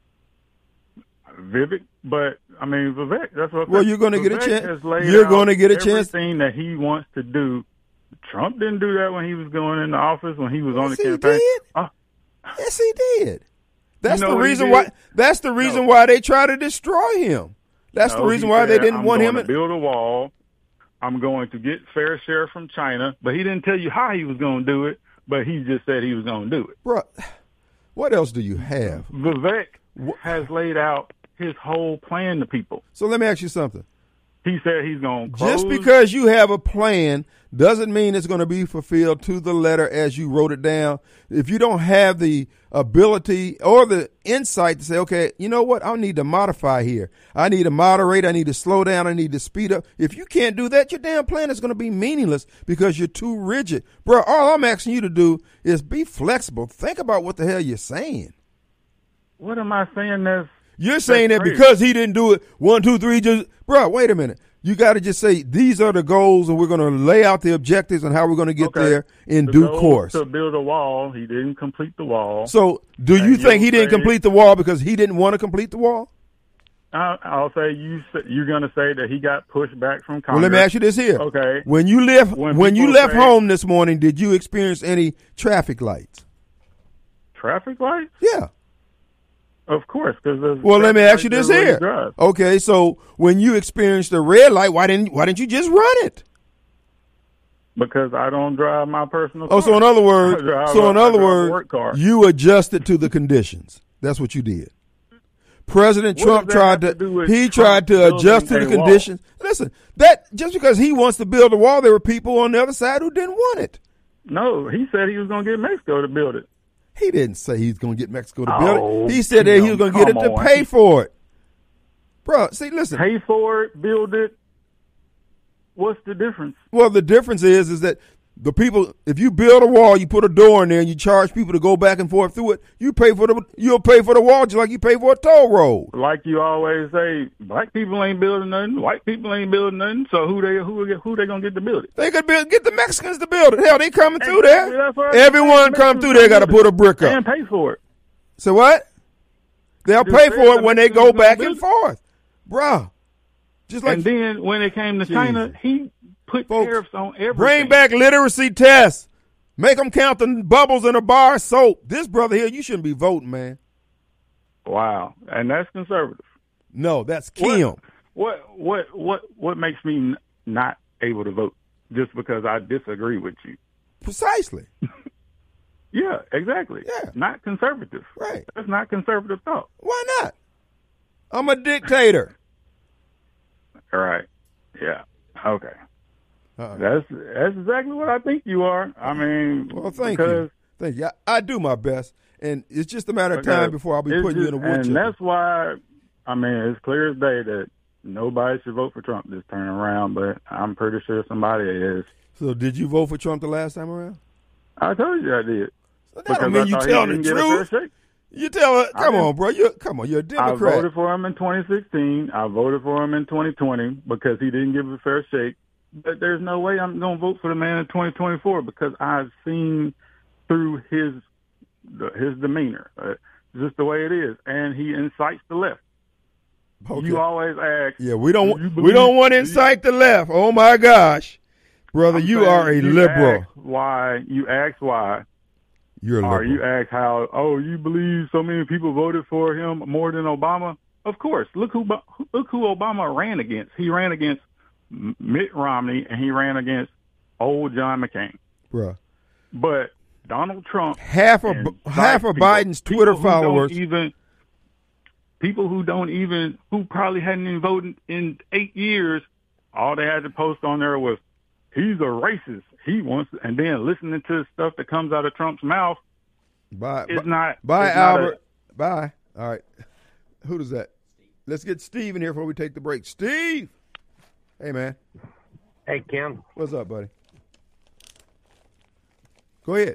S4: Vivek, but I mean Vivek. That's what.
S2: Well, you're going to get a
S4: Vivek
S2: chance.
S4: has laid
S2: You're
S4: out
S2: going to get a chance.
S4: Everything that he wants to do. Trump didn't do that when he was going into office. When he was on
S2: Yes,
S4: the
S2: he
S4: campaign.
S2: did.
S4: Oh,
S2: Yes, he did. That's
S4: You know
S2: the
S4: what he
S2: reason
S4: did?
S2: why. That's the reason
S4: No.
S2: why they try to destroy him. That's the
S4: No,
S2: reason
S4: he
S2: why they
S4: said,
S2: didn't
S4: I'm
S2: want
S4: going
S2: him.
S4: to
S2: In,
S4: build a wall. I'm going to get fair share from China, but he didn't tell you how he was going to do it. But he just said he was going to do it.
S2: Bruh, what else do you have?
S4: Vivek
S2: Wh-
S4: has laid out his whole plan to people.
S2: So let me ask you something.
S4: He said he's going to close.
S2: Just because you have a plan doesn't mean it's going to be fulfilled to the letter as you wrote it down. If you don't have the ability or the insight to say, okay, you know what? I need to modify here. I need to moderate. I need to slow down. I need to speed up. If you can't do that, your damn plan is going to be meaningless because you're too rigid. Bro, all I'm asking you to do is be flexible. Think about what the hell you're saying.
S4: What am I saying? That's
S2: You're saying that
S4: crazy.
S2: because he didn't do it, one, two, three, just, bro, wait a minute. You got to just say, these are the goals, and we're going to lay out the objectives and how we're going to get
S4: Okay.
S2: there in
S4: the
S2: due
S4: goal
S2: course.
S4: to build a wall. He didn't complete the wall.
S2: So, do
S4: And
S2: you think he
S4: you'll
S2: didn't
S4: say-
S2: complete the wall because he didn't want to complete the wall?
S4: I, I'll say you. s- You're going to say that he got pushed back from Congress.
S2: Well, let me ask you this here.
S4: Okay.
S2: When you left, when,
S4: When
S2: you
S4: people
S2: left
S4: say-
S2: home this morning, did you experience any traffic lights?
S4: Traffic lights?
S2: Yeah.
S4: Of course, because
S2: Well, let me ask you this here. Okay, so when you experienced a red light, why didn't why didn't you just run it?
S4: Because I don't drive my personal.
S2: Oh,
S4: car.
S2: so in other
S4: I
S2: words,
S4: drive
S2: so
S4: a-
S2: in
S4: I
S2: other
S4: drive a
S2: words,
S4: work car.
S2: you adjusted to the conditions. That's what you did. President
S4: What
S2: Trump
S4: does that
S2: tried
S4: have
S2: to,
S4: to do with
S2: he
S4: Trump
S2: tried to
S4: building
S2: adjust to the
S4: a wall?
S2: conditions. Listen, that just because he wants to build a wall, there were people on the other side who didn't want it.
S4: No, he said he was going to get Mexico to build it.
S2: He didn't say he's going to get Mexico to
S4: Oh,
S2: build it. He said that he was going to get it
S4: come
S2: to
S4: on.
S2: pay for it. Bro, see, listen.
S4: Pay for it, build it. what's the difference?
S2: Well, the difference is is that the people, if you build a wall, you put a door in there, and you charge people to go back and forth through it. You pay for the, you'll pay for the wall just like you pay for a toll road.
S4: Like you always say, black people ain't building nothing, white people ain't building nothing. So who they who who they gonna get to build it?
S2: They could build, get the Mexicans to build it. Hell, they coming through
S4: Exactly,
S2: there.
S4: that's right.
S2: Everyone come through there got to put a brick up
S4: and pay for it.
S2: So what? They'll
S4: Just
S2: pay
S4: say
S2: for it
S4: the
S2: when they
S4: Mexicans
S2: go
S4: gonna
S2: back
S4: build
S2: and
S4: it.
S2: forth, bruh. Just like
S4: And then when it came to China,
S2: Jesus.
S4: he put
S2: Folks,
S4: tariffs on everything.
S2: bring back literacy tests. Make them count the bubbles in a bar of soap. This brother here, you shouldn't be voting, man.
S4: Wow, and that's conservative.
S2: No, that's Kim.
S4: What what what what makes me n- not able to vote just because I disagree with you?
S2: Precisely.
S4: Yeah, exactly.
S2: Yeah.
S4: Not conservative.
S2: Right.
S4: That's not conservative thought.
S2: Why not? I'm a dictator.
S4: All right. Yeah. Okay.
S2: Uh-uh.
S4: That's that's exactly what I think you are. I mean,
S2: Well, thank
S4: because,
S2: you. Thank you. I, I do my best, and it's just a matter of
S4: because
S2: time before I'll be
S4: it's
S2: putting you
S4: just-
S2: in a wood
S4: And
S2: chipper.
S4: that's why, I mean, it's clear as day that nobody should vote for Trump this turn around, but I'm pretty sure somebody is.
S2: So did you vote for Trump the last time around?
S4: I told you I did.
S2: So that
S4: Because
S2: don't mean
S4: I
S2: you
S4: thought he
S2: telling the
S4: didn't get a fair
S2: truth.
S4: shake.
S2: You tell her,
S4: I
S2: come
S4: didn't-
S2: on, bro. You come on, you're a
S4: I
S2: Democrat.
S4: voted for him in twenty sixteen. I voted for him in twenty twenty because he didn't give a fair shake. But there's no way I'm going to vote for the man in twenty twenty-four because I've seen through his his demeanor. Uh, just the way it is, and he incites the left.
S2: Okay.
S4: You always ask.
S2: Yeah, we don't
S4: do you
S2: we
S4: believe-
S2: don't want to
S4: do you-
S2: incite the left. Oh my gosh, brother,
S4: I'm
S2: you
S4: saying
S2: are a
S4: you
S2: liberal.
S4: ask why you ask why,
S2: You're a
S4: or
S2: liberal.
S4: you ask how? Oh, you believe so many people voted for him more than Obama? Of course. Look who look who Obama ran against. He ran against Mitt Romney, and he ran against old John McCain.
S2: Bruh.
S4: But Donald Trump,
S2: Half of
S4: and
S2: half of
S4: people-
S2: Biden's
S4: people
S2: Twitter
S4: who don't
S2: followers.
S4: even people who don't even who probably hadn't even voted in eight years, all they had to post on there was he's a racist. He wants, and then listening to stuff that comes out of Trump's mouth
S2: Bye,
S4: is
S2: bye,
S4: not.
S2: bye
S4: it's not a-
S2: Albert. Bye. All right. Who does that? Let's get Steve in here before we take the break. Steve. Hey, man.
S5: Hey, Kim.
S2: What's up, buddy? Go ahead.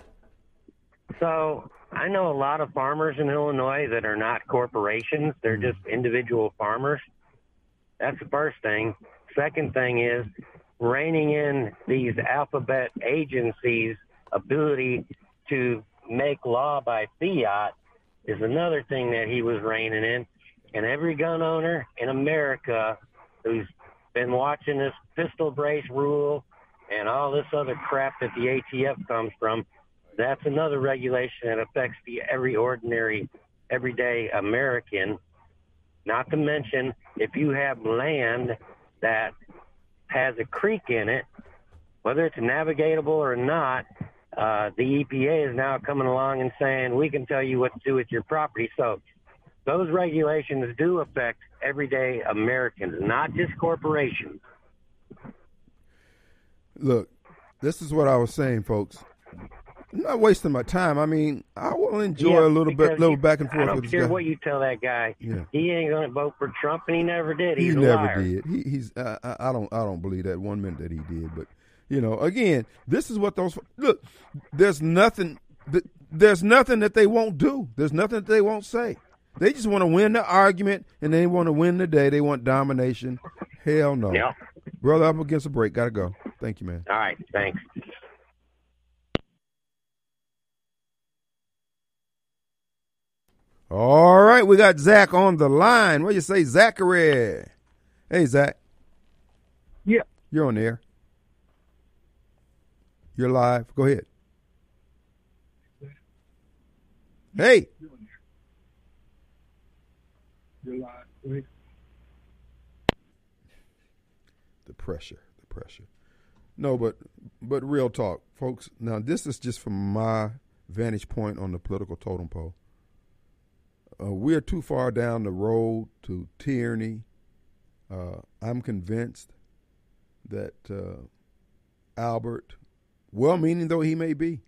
S5: So I know a lot of farmers in Illinois that are not corporations. They're just individual farmers. That's the first thing. Second thing is reining in these alphabet agencies' ability to make law by fiat is another thing that he was reining in. And every gun owner in America who's been watching this pistol brace rule and all this other crap that the A T F comes from, that's another regulation that affects the every ordinary, everyday American. Not to mention, if you have land that has a creek in it, whether it's navigable or not, uh, the E P A is now coming along and saying, we can tell you what to do with your property. So those regulations do affect everyday Americans, not just corporations.
S2: Look, this is what I was saying, folks. I'm not wasting my time. I mean, I will enjoy
S5: Yeah,
S2: a little bit,
S5: because
S2: little
S5: you-
S2: back and
S5: I
S2: forth
S5: don't
S2: with this
S5: care
S2: guy.
S5: what you tell that guy.
S2: Yeah.
S5: He ain't going to vote for Trump, and he never did.
S2: He
S5: He's a
S2: never
S5: liar.
S2: did. He, he's. Uh, I I don't. I don't believe that one minute that he did. But you know, again, this is what those look. There's nothing. th- There's nothing that they won't do. There's nothing that they won't say. They just want to win the argument, and they want to win the day. They want domination. Hell no,
S5: Yeah.
S2: brother. I'm against a break. Gotta go. Thank you, man.
S5: All right. Thanks.
S2: All right, we got Zach on the line. What do you say, Zachary? Hey, Zach.
S3: Yeah.
S2: You're on the air. You're live. Go ahead. Hey. The pressure, the pressure. No, but but real talk, folks. Now, this is just from my vantage point on the political totem pole. Uh, we're too far down the road to tyranny. Uh, I'm convinced that uh, Albert, well-meaning though he may be,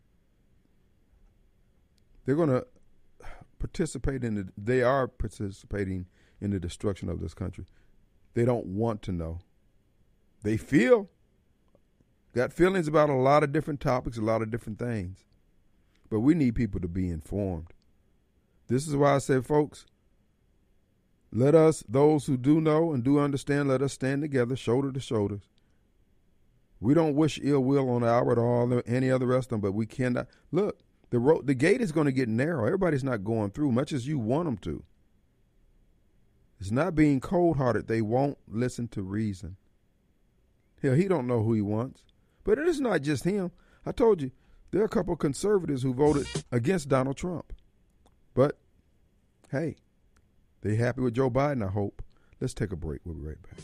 S2: they're going to participate in the, they are participating in the destruction of this country. They don't want to know. They feel, got feelings about a lot of different topics, a lot of different things. But we need people to be informed. This is why I say, folks, let us, those who do know and do understand, let us stand together, shoulder to shoulder. We don't wish ill will on Albert or all, any other rest of them, but we cannot. Look, the road, the gate is going to get narrow. Everybody's not going through, much as you want them to. It's not being cold-hearted. They won't listen to reason. Hell, he don't know who he wants. But it is not just him. I told you, there are a couple of conservatives who voted against Donald Trump. But, hey, they happy with Joe Biden, I hope. Let's take a break. We'll be right back.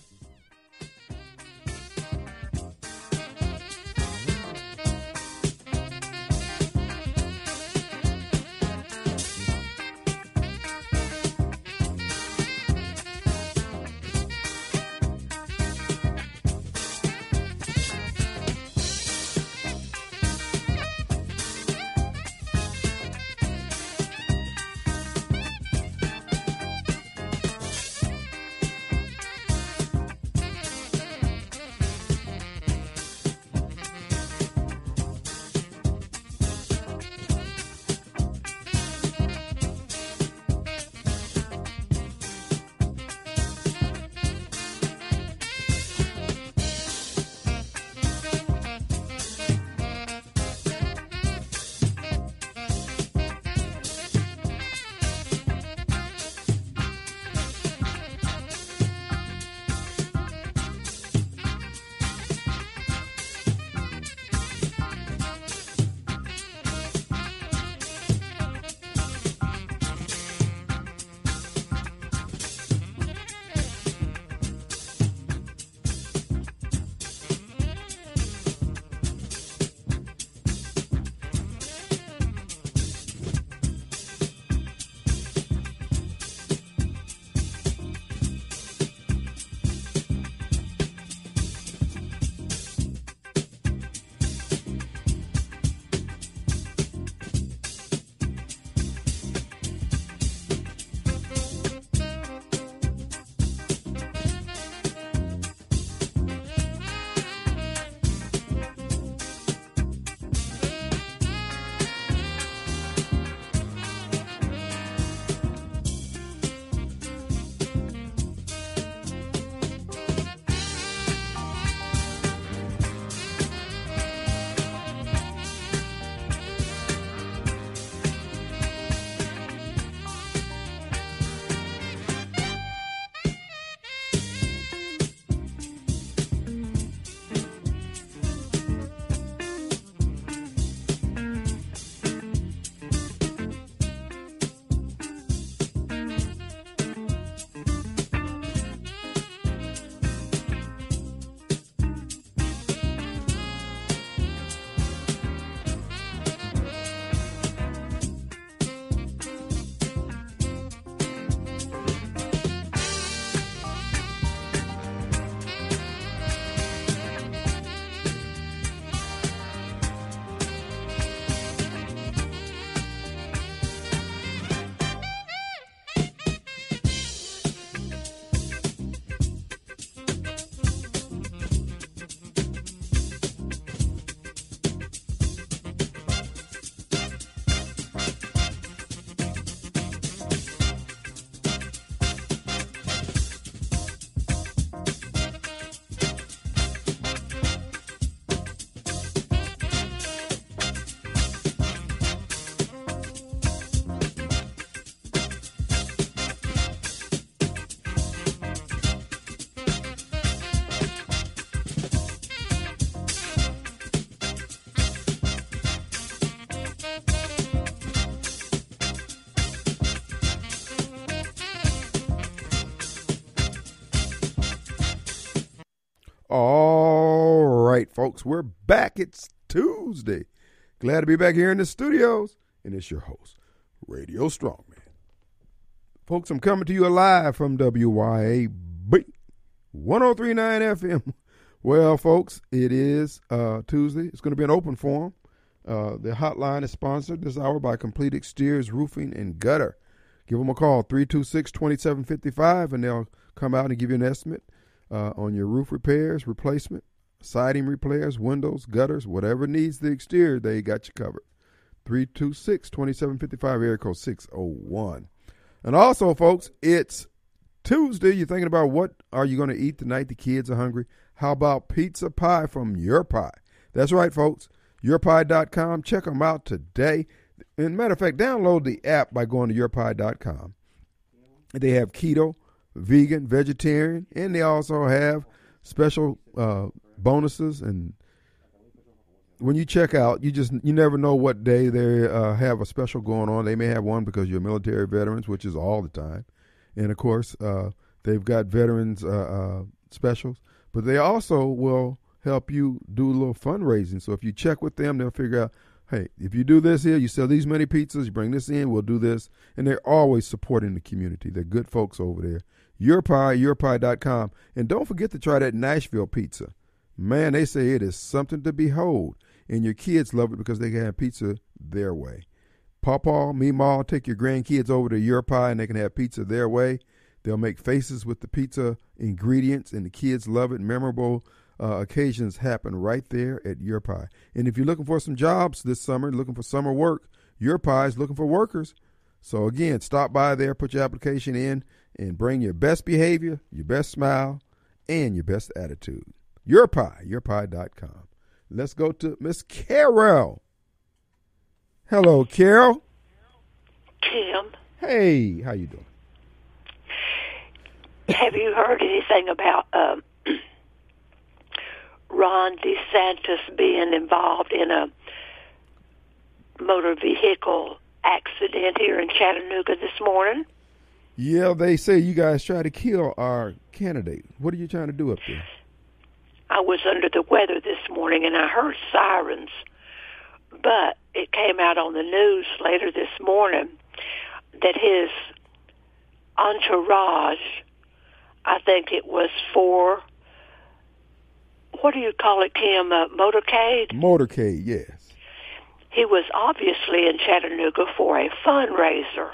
S2: All right, folks, we're back. It's Tuesday. Glad to be back here in the studios, and it's your host, Radio Strongman. Folks, I'm coming to you live from W Y A B one oh three point nine F M. Well, folks, it is uh, Tuesday. It's going to be an open forum. Uh, the hotline is sponsored this hour by Complete Exteriors Roofing and Gutter. Give them a call, three two six, two seven five five, and they'll come out and give you an estimate. uh, on your roof repairs, replacement, siding repairs, windows, gutters, whatever needs the exterior, they got you covered. three two six, two seven five five, area code six oh one. And also, folks, it's Tuesday. You're thinking about what are you going to eat tonight? The kids are hungry. How about pizza pie from Your Pie? That's right, folks. your pie dot com. Check them out today. And matter of fact, download the app by going to your pie dot com. They have keto, vegan, vegetarian, and they also have special uh, bonuses. And when you check out, you just you never know what day they uh, have a special going on. They may have one because you're military veterans, which is all the time. And, of course, uh, they've got veterans uh, uh, specials. But they also will help you do a little fundraising. So if you check with them, they'll figure out, hey, if you do this here, you sell these many pizzas, you bring this in, we'll do this. And they're always supporting the community. They're good folks over there. Your Pie, your pie dot com. And don't forget to try that Nashville pizza. Man, they say it is something to behold. And your kids love it because they can have pizza their way. Pawpaw, Meemaw, take your grandkids over to Your Pie and they can have pizza their way. They'll make faces with the pizza ingredients, and the kids love it. Memorable uh, occasions happen right there at Your Pie. And if you're looking for some jobs this summer, looking for summer work, Your Pie is looking for workers. So, again, stop by there, put your application in, and bring your best behavior, your best smile, and your best attitude. Your Pie, your pie dot com. Let's go to Miss Carol. Hello, Carol.
S6: Tim.
S2: Hey, how you doing?
S6: Have you heard anything about um, Ron DeSantis being involved in a motor vehicle accident here in Chattanooga this morning?
S2: Yeah, they say you guys try to kill our candidate. What are you trying to do up there?
S6: I was under the weather this morning, and I heard sirens. But it came out on the news later this morning that his entourage, I think it was for, what do you call it, Kim, uh, motorcade?
S2: Motorcade, yes.
S6: He was obviously in Chattanooga for a fundraiser.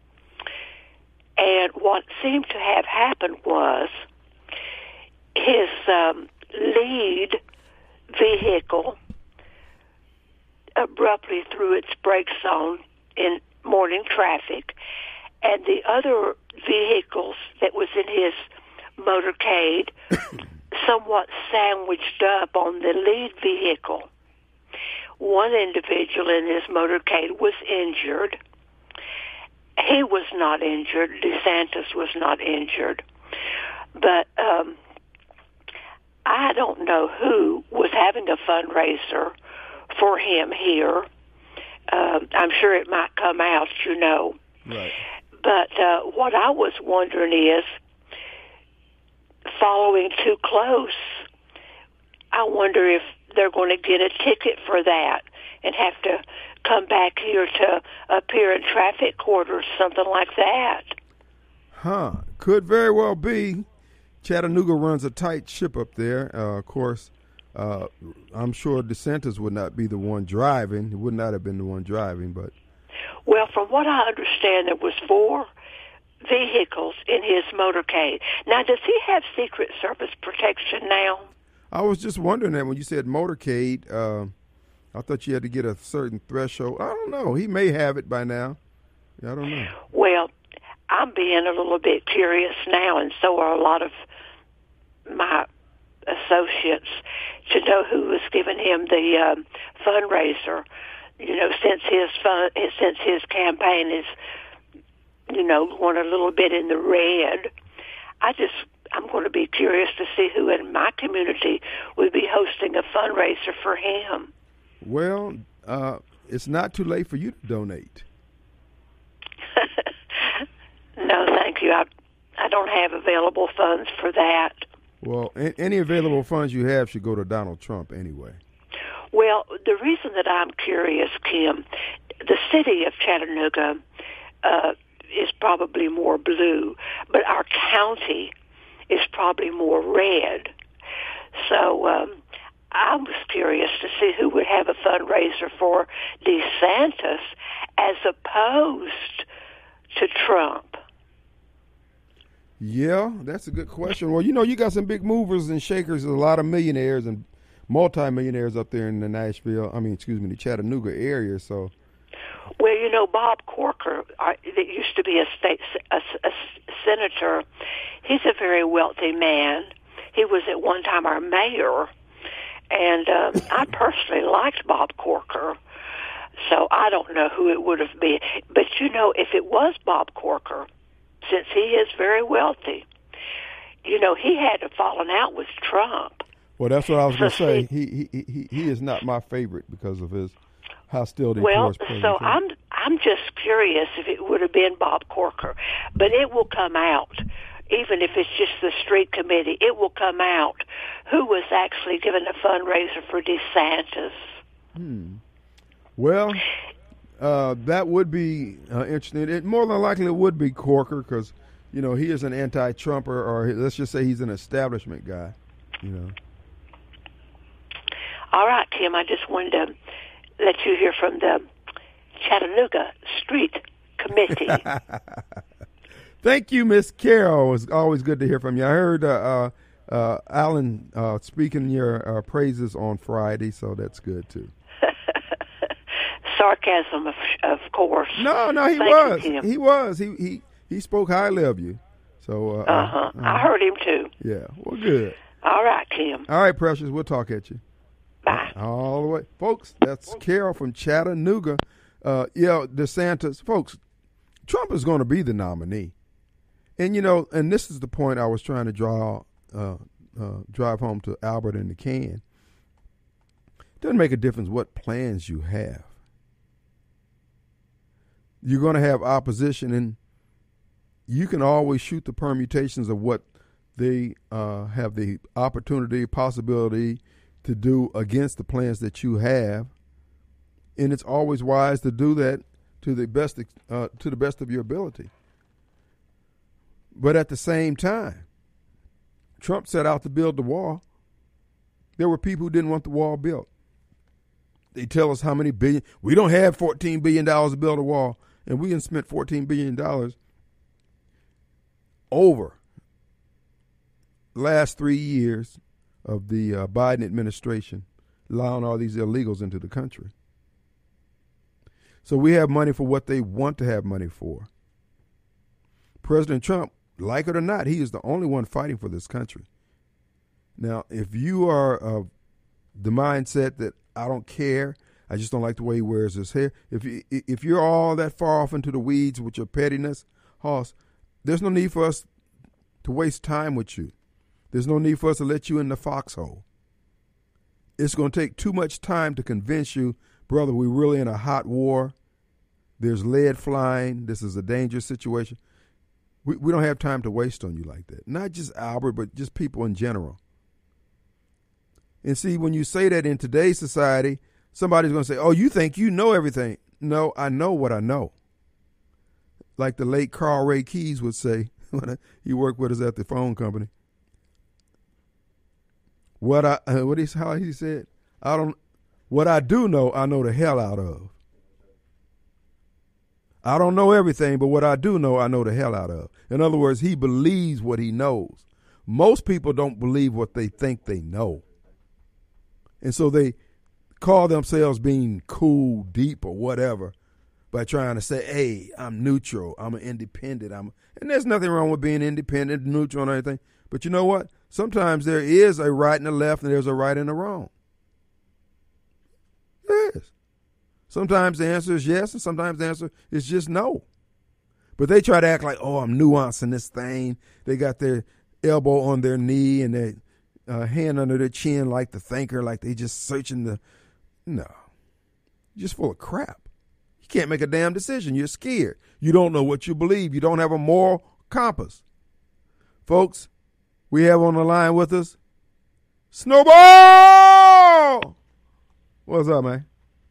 S6: And what seemed to have happened was his um, lead vehicle abruptly threw its brakes on in morning traffic, and the other vehicles that was in his motorcade somewhat sandwiched up on the lead vehicle. One individual in his motorcade was injured. He was not injured. DeSantis was not injured. But um, I don't know who was having a fundraiser for him here. Um, I'm sure it might come out, you know.
S2: Right.
S6: But uh, what I was wondering is, following too close, I wonder if they're going to get a ticket for that and have to come back here to appear in traffic court or something like that.
S2: Huh. Could very well be. Chattanooga runs a tight ship up there. Uh, of course, uh, I'm sure DeSantis would not be the one driving. He would not have been the one driving, but...
S6: Well, from what I understand, there was four vehicles in his motorcade. Now, does he have Secret Service protection now?
S2: I was just wondering that when you said motorcade, uh, I thought you had to get a certain threshold. I don't know. He may have it by now. I don't know.
S6: Well, I'm being a little bit curious now, and so are a lot of my associates, to know who was giving him the um, fundraiser. You know, since his fun, since his campaign is, you know, going a little bit in the red, I just I'm going to be curious to see who in my community would be hosting a fundraiser for him.
S2: Well, uh, it's not too late for you to donate.
S6: No, thank you. I I don't have available funds for that.
S2: Well, a- any available funds you have should go to Donald Trump anyway.
S6: Well, the reason that I'm curious, Kim, the city of Chattanooga uh, is probably more blue, but our county is probably more red. So um, I was curious to see who would have a fundraiser for DeSantis as opposed to Trump.
S2: Yeah, that's a good question. Well, you know, you got some big movers and shakers, a lot of millionaires and multimillionaires up there in the Nashville, I mean, excuse me, the Chattanooga area, so.
S6: Well, you know, Bob Corker, uh, that used to be a state a, a senator, he's a very wealthy man. He was at one time our mayor, and um, I personally liked Bob Corker, so I don't know who it would have been. But, you know, if it was Bob Corker, since he is very wealthy, you know, he had a falling out with Trump.
S2: Well, that's what I was
S6: so
S2: going to say.
S6: See,
S2: he, he he he is not my favorite because of his hostility
S6: well,
S2: towards President
S6: so
S2: Trump.
S6: I'm I'm just curious if it would have been Bob Corker, but it will come out. Even if it's just the street committee, it will come out who was actually given a fundraiser for DeSantis.
S2: Hmm. Well, uh, that would be uh, interesting. It more than likely it would be Corker because, you know, he is an anti-Trumper, or let's just say he's an establishment guy, you know.
S6: All right, Tim, I just wanted to let you hear from the Chattanooga Street Committee.
S2: Thank you, Miss Carol. It's always good to hear from you. I heard uh, uh, uh, Alan uh, speaking your uh, praises on Friday, so that's good, too.
S6: Sarcasm, of, of course.
S2: No, no, he
S6: Thank
S2: was.
S6: you, Tim.
S2: He was. He he he spoke highly of you. So. Uh,
S6: Uh-huh.
S2: uh,
S6: I heard him, too.
S2: Yeah, well, good.
S6: All right, Tim.
S2: All right, Precious, we'll talk at you.
S6: Bye.
S2: All the way. Folks, that's Carol from Chattanooga. Uh, yeah, DeSantis. Folks, Trump is going to be the nominee. And, you know, and this is the point I was trying to draw, uh, uh, drive home to Albert and the can. It doesn't make a difference what plans you have. You're going to have opposition, and you can always shoot the permutations of what they uh, have the opportunity, possibility to do against the plans that you have. And it's always wise to do that to the best, uh, to the best of your ability. But at the same time, Trump set out to build the wall. There were people who didn't want the wall built. They tell us how many billion. We don't have fourteen billion dollars to build a wall, and we can spend fourteen billion dollars over the last three years of the uh, Biden administration, allowing all these illegals into the country. So we have money for what they want to have money for. President Trump, like it or not, he is the only one fighting for this country. Now, if you are of the mindset that I don't care, I just don't like the way he wears his hair, if you, if you're all that far off into the weeds with your pettiness, Hoss, there's no need for us to waste time with you. There's no need for us to let you in the foxhole. It's going to take too much time to convince you, brother, we're really in a hot war. There's lead flying. This is a dangerous situation. We, we don't have time to waste on you like that. Not just Albert, but just people in general. And see, when you say that in today's society, somebody's going to say, oh, you think you know everything. No, I know what I know. Like the late Carl Ray Keys would say when he worked with us at the phone company. What I uh, what he how he said, I don't what I do know, I know the hell out of. I don't know everything, but what I do know, I know the hell out of. In other words, he believes what he knows. Most people don't believe what they think they know. And so they call themselves being cool, deep, or whatever by trying to say, hey, I'm neutral, I'm an independent. I'm, and there's nothing wrong with being independent, neutral, and everything. But you know what? Sometimes there is a right and a left, and there's a right and a wrong. There is. Sometimes the answer is yes, and sometimes the answer is just no. But they try to act like, oh, I'm nuancing this thing. They got their elbow on their knee and their uh, hand under their chin like the thinker, like they just searching the, no. You're just full of crap. You can't make a damn decision. You're scared. You don't know what you believe. You don't have a moral compass. Folks, we have on the line with us Snowball! What's up, man?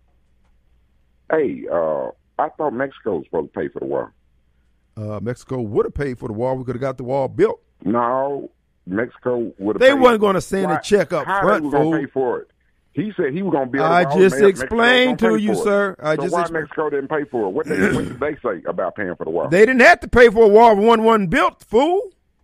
S7: Hey, uh, I thought Mexico was supposed to pay for the wall.
S2: Uh, Mexico would have paid for the wall. We could have got the wall built.
S7: No, Mexico would have
S2: They
S7: paid.
S2: wasn't going to send
S7: Why,
S2: a check up
S7: how
S2: front,
S7: they were going to
S2: fool.
S7: pay for it? He said he was going to build a
S2: I
S7: wall.
S2: just
S7: Me-
S2: explained
S7: Mexico
S2: to
S7: was
S2: you,
S7: gonna pay for
S2: sir.
S7: it.
S2: I
S7: so
S2: just
S7: why
S2: expl-
S7: Mexico didn't pay for it? What, they, what did they say about paying for the wall?
S2: They didn't have to pay for a wall if one wasn't built, fool.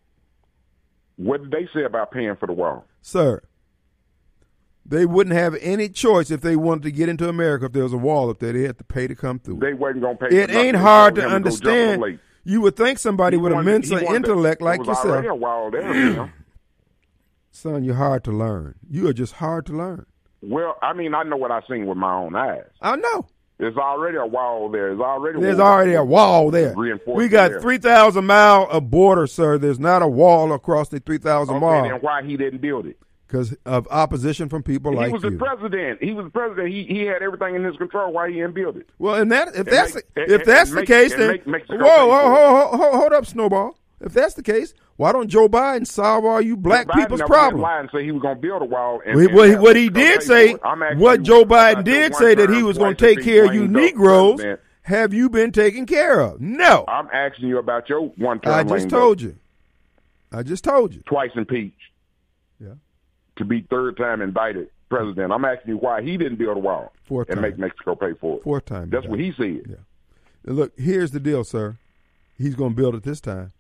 S7: What did they say about paying for the wall?
S2: Sir, they wouldn't have any choice if they wanted to get into America. If there was a wall up there, they had to pay to come through.
S7: They wasn't going to pay.
S2: It
S7: for
S2: ain't
S7: nothing.
S2: hard
S7: They
S2: to
S7: told him go jump
S2: understand.
S7: the lake.
S2: You would think somebody
S7: He
S2: with
S7: wanted-
S2: immense
S7: he wanted to-
S2: intellect like
S7: there was already
S2: yourself.
S7: a wall there, man.
S2: Son, you're hard to learn. You are just hard to learn.
S7: Well, I mean, I know what I seen with my own eyes.
S2: I know.
S7: There's already a wall there. There's already
S2: There's
S7: wall.
S2: already a wall there.
S7: Reinforced
S2: We got
S7: there.
S2: three thousand miles of border, sir. There's not a wall across the three thousand
S7: Okay,
S2: miles
S7: then why he didn't build it?
S2: because of opposition from people like
S7: he was
S2: you.
S7: the president. He was the president. He he had everything in his control. Why he didn't build it?
S2: Well, and that if
S7: And
S2: that's
S7: make-
S2: the,
S7: and-
S2: if that's
S7: and
S2: the
S7: make-
S2: case,
S7: and
S2: then
S7: make Mexico
S2: whoa,
S7: pay
S2: whoa,
S7: for it.
S2: whoa, whoa, hold up, Snowball. If that's the case, why don't Joe Biden solve all you black
S7: Biden
S2: people's
S7: never
S2: problems?
S7: did lie and say he was going to build a wall. And,
S2: Well,
S7: and
S2: what, he-
S7: have
S2: what he
S7: Mexico
S2: did
S7: pay
S2: say,
S7: for it. I'm asking
S2: what
S7: you
S2: Joe Biden
S7: about your
S2: did say that he
S7: one-term
S2: was going to
S7: twice
S2: take
S7: as
S2: care of
S7: big
S2: you
S7: lame duck
S2: Negroes.
S7: president.
S2: Have you been taken care of? No.
S7: I'm asking you about your one term.
S2: I just told you. I just told you.
S7: Twice impeached.
S2: Yeah.
S7: To be third time indicted president. I'm asking you why he didn't build a wall
S2: Fourth
S7: and
S2: time.
S7: make Mexico pay for it.
S2: Fourth time.
S7: That's
S2: you
S7: what
S2: got
S7: he
S2: it.
S7: said.
S2: Yeah. Now, look, here's the deal, sir. He's going to build it this time.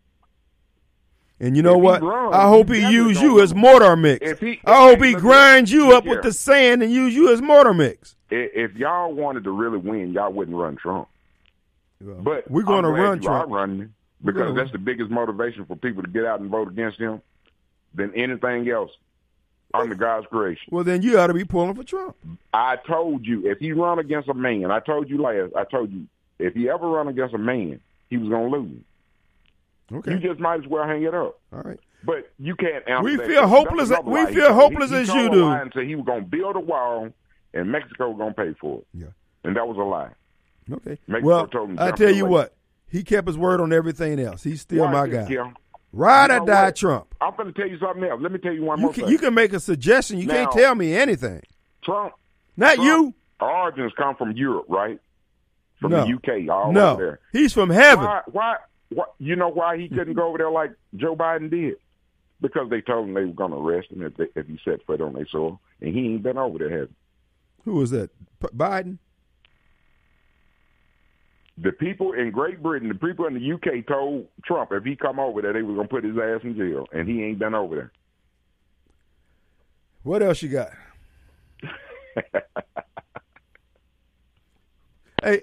S2: And you know
S7: If he
S2: what?
S7: runs,
S2: I hope
S7: he
S2: he
S7: definitely
S2: use
S7: don't
S2: you
S7: lose.
S2: as mortar mix.
S7: If he-
S2: I hope
S7: hey,
S2: he
S7: look
S2: grinds
S7: here.
S2: you
S7: Look
S2: up with
S7: here.
S2: the sand and use you as mortar mix.
S7: I- If y'all wanted to really win, y'all wouldn't run Trump. But
S2: we're going to
S7: I'm glad
S2: run
S7: you are
S2: Trump.
S7: running him
S2: We're
S7: because
S2: gonna
S7: that's the biggest motivation for people to get out and vote against him than anything else under God's creation.
S2: Well, then you ought to be pulling for Trump.
S7: I told you if he run against a man, I told you last, I told you if he ever run against a man, he was going to lose.
S2: Okay.
S7: You just might as well hang it up.
S2: All right.
S7: But you can't answer
S2: We
S7: that
S2: feel
S7: question.
S2: hopeless-
S7: That's another
S2: we
S7: lie he
S2: feel
S7: told.
S2: hopeless
S7: he, he
S2: as
S7: told
S2: you
S7: a
S2: do.
S7: lie and said he was going to build a wall and Mexico was going to pay for it.
S2: Yeah.
S7: And that was a lie.
S2: Okay.
S7: Mexico
S2: well,
S7: told him
S2: I
S7: jump
S2: tell
S7: in the
S2: you
S7: lake.
S2: what. He kept his word on everything else. He's still
S7: Watch
S2: my
S7: this,
S2: guy.
S7: Kim.
S2: Ride
S7: You
S2: or
S7: know
S2: die
S7: what?
S2: Trump.
S7: I'm going to tell you something else. Let me tell you one
S2: You
S7: more
S2: can,
S7: thing.
S2: you can make a suggestion. You can't
S7: Now-
S2: tell me anything.
S7: Trump.
S2: Not
S7: Trump,
S2: you.
S7: Origins come from Europe, right? From
S2: No.
S7: the U K, all
S2: No.
S7: over there.
S2: He's from heaven.
S7: Why, why, why? You know why he couldn't go over there like Joe Biden did? Because they told him they were going to arrest him if, they, if he set foot on their soil, and he ain't been over there, has he?
S2: Who was that? P- Biden?
S7: The people in Great Britain, the people in the U K told Trump if he come over there, they were going to put his ass in jail, and he ain't been over there.
S2: What else you got? Hey,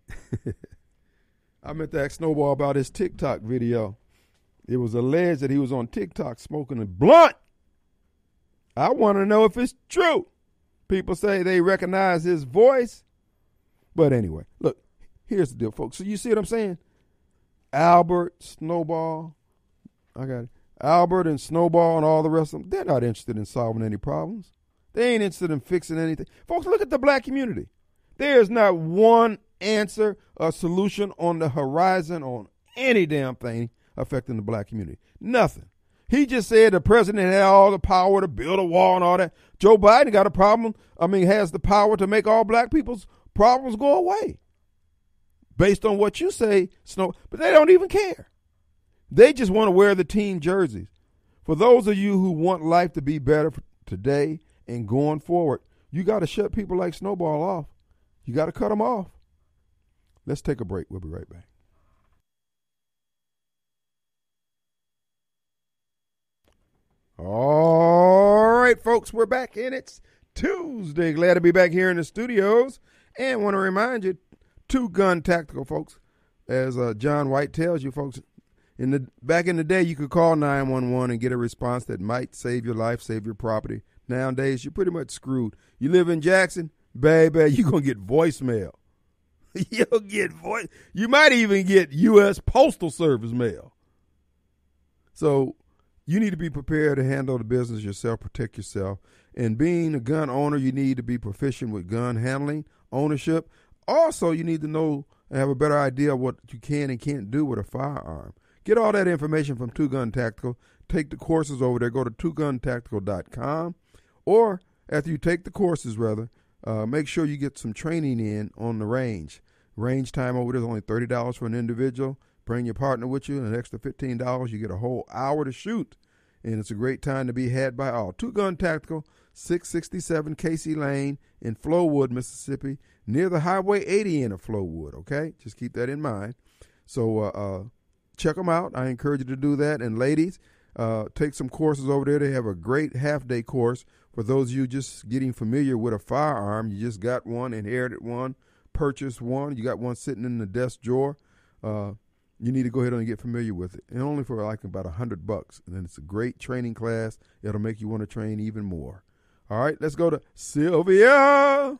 S2: I meant to ask Snowball about his TikTok video. It was alleged that he was on TikTok smoking a blunt. I want to know if it's true. People say they recognize his voice. But anyway, look, here's the deal, folks. So you see what I'm saying? Albert, Snowball, I got it. Albert and Snowball and all the rest of them, they're not interested in solving any problems. They ain't interested in fixing anything. Folks, look at the black community. There's not one answer or solution on the horizon on any damn thing affecting the black community. Nothing. He just said the president had all the power to build a wall and all that. Joe Biden got a problem. I mean, has the power to make all black people's problems go away. Based on what you say, Snow, but they don't even care. They just want to wear the team jerseys. For those of you who want life to be better for today and going forward, you got to shut people like Snowball off. You got to cut them off. Let's take a break. We'll be right back. All right, folks, we're back, and it's Tuesday. Glad to be back here in the studios. And want to remind you, Two Gun Tactical, folks. As uh, John White tells you, folks, in the back in the day, you could call nine one one and get a response that might save your life, save your property. Nowadays, you're pretty much screwed. You live in Jackson, baby, you're going to get voicemail. You'll get voice. You might even get U S Postal Service mail. So you need to be prepared to handle the business yourself, protect yourself. And being a gun owner, you need to be proficient with gun handling, ownership. Also, you need to know and have a better idea of what you can and can't do with a firearm. Get all that information from Two Gun Tactical. Take the courses over there. Go to two gun tactical dot com. Or after you take the courses, rather, uh, make sure you get some training in on the range. Range time over there is only thirty dollars for an individual. Bring your partner with you, and an extra fifteen dollars. You get a whole hour to shoot. And it's a great time to be had by all. Two Gun Tactical, six sixty-seven Casey Lane in Flowood, Mississippi, near the Highway eighty end of Flowood, okay? Just keep that in mind. So uh, uh, check them out. I encourage you to do that. And ladies, Uh, take some courses over there. They have a great half-day course for those of you just getting familiar with a firearm. You just got one, inherited one, purchased one. You got one sitting in the desk drawer. Uh, you need to go ahead and get familiar with it. And only for like about a hundred bucks. And then it's a great training class. It'll make you want to train even more. All right, let's go to Sylvia.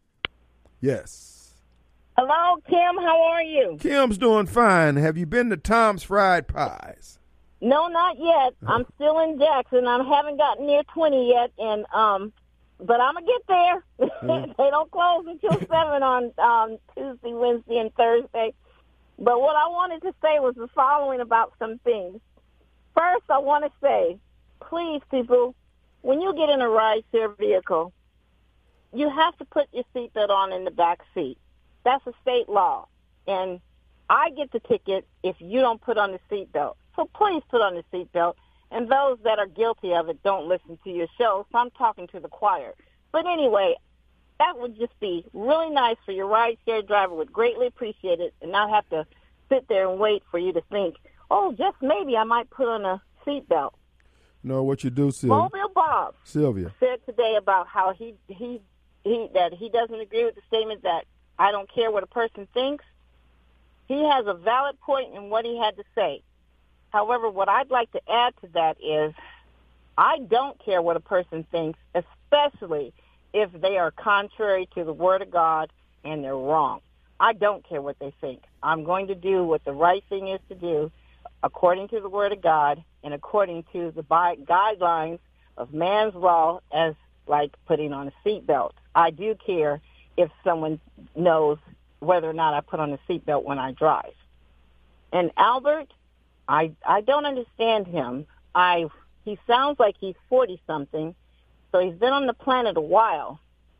S2: Yes.
S8: Hello, Kim. How are you?
S2: Kim's doing fine. Have you been to Tom's Fried Pies?
S8: No, not yet. Oh. I'm still in Jackson. I haven't gotten near twenty yet, and um, but I'm gonna get there. Mm. They don't close until seven on um, Tuesday, Wednesday, and Thursday. But what I wanted to say was the following about some things. First, I want to say, please, people, when you get in a rideshare vehicle, you have to put your seatbelt on in the back seat. That's a state law, and I get the ticket if you don't put on the seatbelt. So please put on the seatbelt. And those that are guilty of it don't listen to your show, so I'm talking to the choir. But anyway, that would just be really nice for your rideshare driver. Would greatly appreciate it and not have to sit there and wait for you to think, oh, just maybe I might put on a seatbelt.
S2: No, what you do, Sylvia.
S8: Mobile Bob
S2: Sylvia.
S8: said today about how he, he, he that he doesn't agree with the statement that I don't care what a person thinks. He has a valid point in what he had to say. However, what I'd like to add to that is I don't care what a person thinks, especially if they are contrary to the Word of God and they're wrong. I don't care what they think. I'm going to do what the right thing is to do according to the Word of God and according to the guidelines of man's law, as like putting on a seatbelt. I do care if someone knows whether or not I put on a seatbelt when I drive. And Albert, I I don't understand him. I he sounds like he's forty-something, so he's been on the planet a while.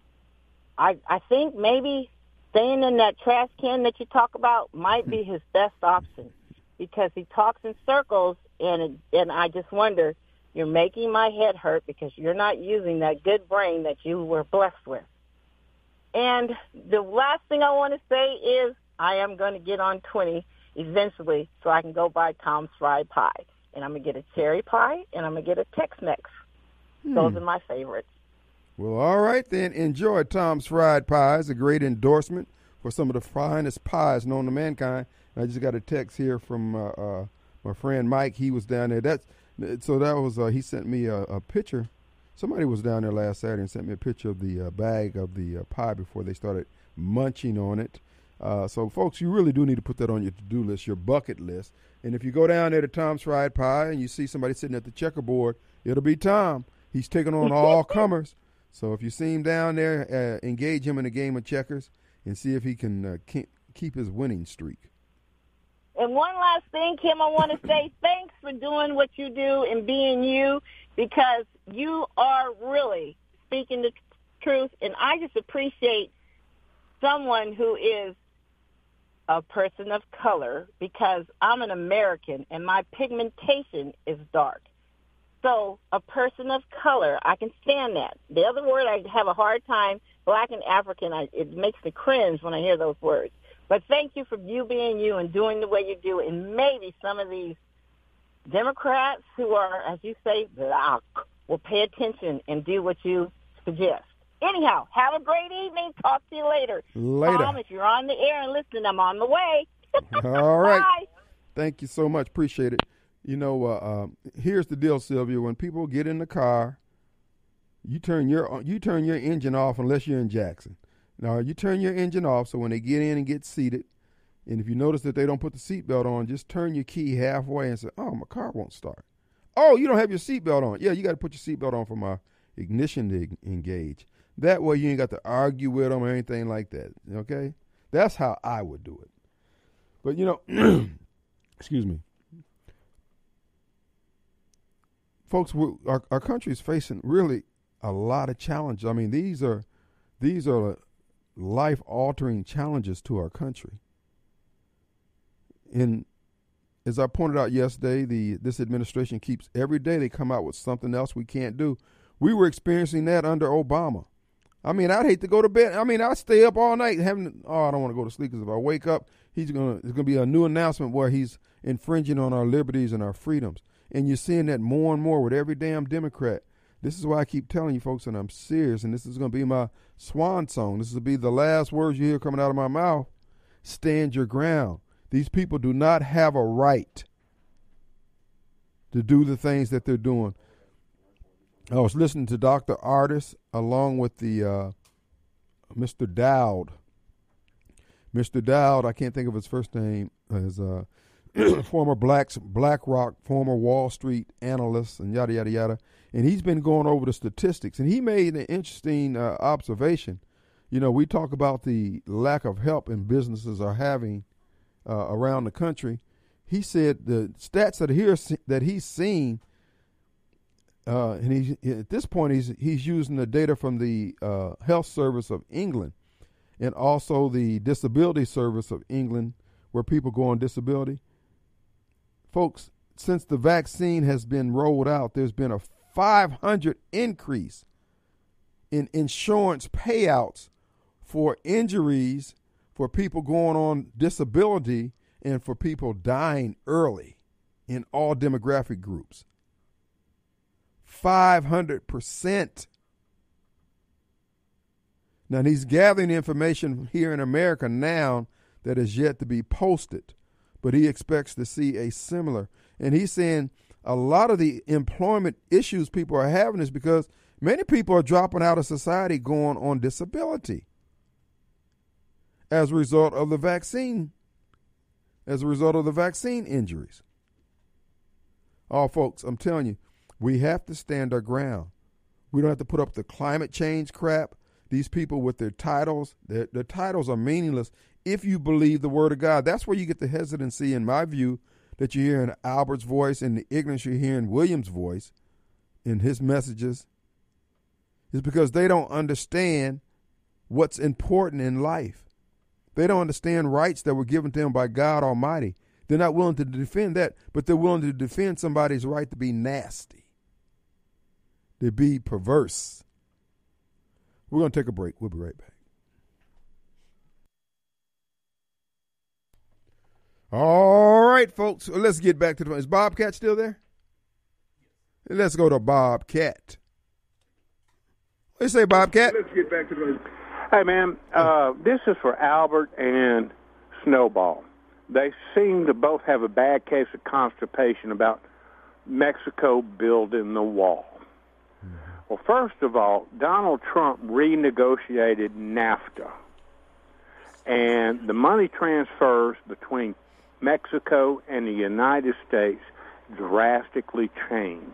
S8: I I think maybe staying in that trash can that you talk about might be his best option, because he talks in circles, and it, and I just wonder, you're making my head hurt because you're not using that good brain that you were blessed with. And the last thing I want to say is I am going to get on twenty eventually so I can go buy Tom's Fried Pie. And I'm going to get a cherry pie, and I'm going to get a Tex-Mex. Hmm. Those are my favorites.
S2: Well, all right then. Enjoy Tom's Fried Pies, a great endorsement for some of the finest pies known to mankind. I just got a text here from uh, uh, my friend Mike. He was down there. That's so that was uh, he sent me a, a picture. Somebody was down there last Saturday and sent me a picture of the uh, bag of the uh, pie before they started munching on it. Uh, so, folks, you really do need to put that on your to-do list, your bucket list. And if you go down there to Tom's Fried Pie and you see somebody sitting at the checkerboard, it'll be Tom. He's taking on all comers. So if you see him down there, uh, engage him in a game of checkers and see if he can uh, keep his winning streak.
S8: And one last thing, Kim, I want to say thanks for doing what you do and being you, because you are really speaking the truth. And I just appreciate someone who is a person of color, because I'm an American and my pigmentation is dark. So a person of color, I can stand that. The other word I have a hard time, black and African, I, it makes me cringe when I hear those words. But thank you for you being you and doing the way you do. And maybe some of these Democrats who are, as you say, black, will pay attention and do what you suggest. Anyhow, have a great evening. Talk to you later.
S2: Later.
S8: Tom, if you're on the air and listening, I'm on the way.
S2: All right.
S8: Bye.
S2: Thank you so much. Appreciate it. You know, uh, uh, here's the deal, Sylvia. When people get in the car, you turn your you turn your engine off unless you're in Jackson. Now, you turn your engine off so when they get in and get seated, and if you notice that they don't put the seatbelt on, just turn your key halfway and say, oh, my car won't start. Oh, you don't have your seatbelt on. Yeah, you got to put your seatbelt on for my ignition to engage. That way you ain't got to argue with them or anything like that, okay? That's how I would do it. But, you know, excuse me. Folks, we're, our, our country is facing really a lot of challenges. I mean, these are these are life-altering challenges to our country. And as I pointed out yesterday, the this administration keeps, every day they come out with something else we can't do. We were experiencing that under Obama. I mean, I'd hate to go to bed. I mean, I stay up all night having, oh, I don't want to go to sleep, because if I wake up, he's gonna there's gonna be a new announcement where he's infringing on our liberties and our freedoms. And you're seeing that more and more with every damn Democrat. This is why I keep telling you folks, and I'm serious, and this is going to be my swan song. This will be the last words you hear coming out of my mouth. Stand your ground. These people do not have a right to do the things that they're doing. I was listening to Doctor Artis along with the uh, Mister Dowd. Mister Dowd, I can't think of his first name, is uh, former Blacks, BlackRock, former Wall Street analyst, and yada, yada, yada. And he's been going over the statistics, and he made an interesting uh, observation. You know, we talk about the lack of help in businesses are having uh, around the country. He said the stats that here that he's seen, uh, and he at this point he's he's using the data from the uh, Health Service of England, and also the Disability Service of England, where people go on disability. Folks, since the vaccine has been rolled out, there's been a five hundred increase in insurance payouts for injuries, for people going on disability, and for people dying early in all demographic groups. five hundred percent. Now, he's gathering information here in America now that is yet to be posted, but he expects to see a similar. And he's saying a lot of the employment issues people are having is because many people are dropping out of society going on disability as a result of the vaccine, as a result of the vaccine injuries. Oh, folks, I'm telling you, we have to stand our ground. We don't have to put up the climate change crap. These people with their titles, their, their titles are meaningless if you believe the word of God. That's where you get the hesitancy, in my view, that you hear in Albert's voice and the ignorance you hear in William's voice in his messages, is because they don't understand what's important in life. They don't understand rights that were given to them by God Almighty. They're not willing to defend that, but they're willing to defend somebody's right to be nasty, to be perverse. We're going to take a break. We'll be right back. All right, folks. Let's get back to the. Is Bobcat still there? Let's go to Bobcat. What do you say, Bobcat?
S9: Let's get back to the. Hey, man. Uh, this is for Albert and Snowball. They seem to both have a bad case of constipation about Mexico building the wall. Mm-hmm. Well, first of all, Donald Trump renegotiated NAFTA, and the money transfers between Mexico and the United States drastically changed.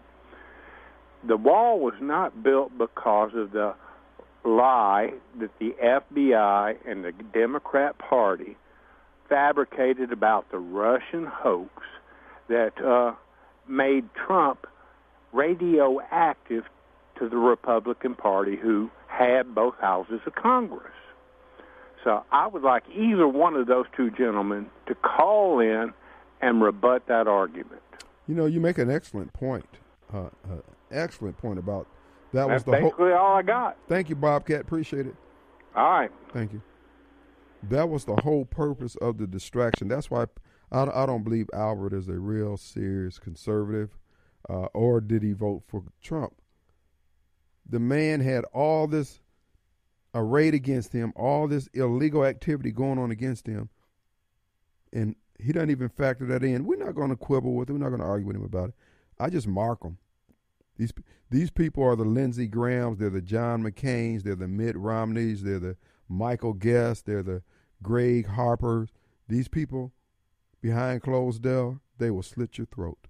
S9: The wall was not built because of the lie that the F B I and the Democrat Party fabricated about the Russian hoax that uh, made Trump radioactive to the Republican Party, who had both houses of Congress. So I would like either one of those two gentlemen to call in and rebut that argument.
S2: You know, you make an excellent point. Uh, uh, excellent point about that.
S9: That's
S2: was the
S9: basically
S2: whole,
S9: all I got.
S2: Thank you, Bobcat. Appreciate it.
S9: All right.
S2: Thank you. That was the whole purpose of the distraction. That's why I, I don't believe Albert is a real serious conservative, uh, or did he vote for Trump? The man had all this arrayed against him, all this illegal activity going on against him, and he doesn't even factor that in. We're not going to quibble with him. We're not going to argue with him about it. I just mark them. These these people are the Lindsey Grahams. They're the John McCains. They're the Mitt Romneys. They're the Michael Guest. They're the Greg Harpers. These people behind closed doors, they will slit your throat.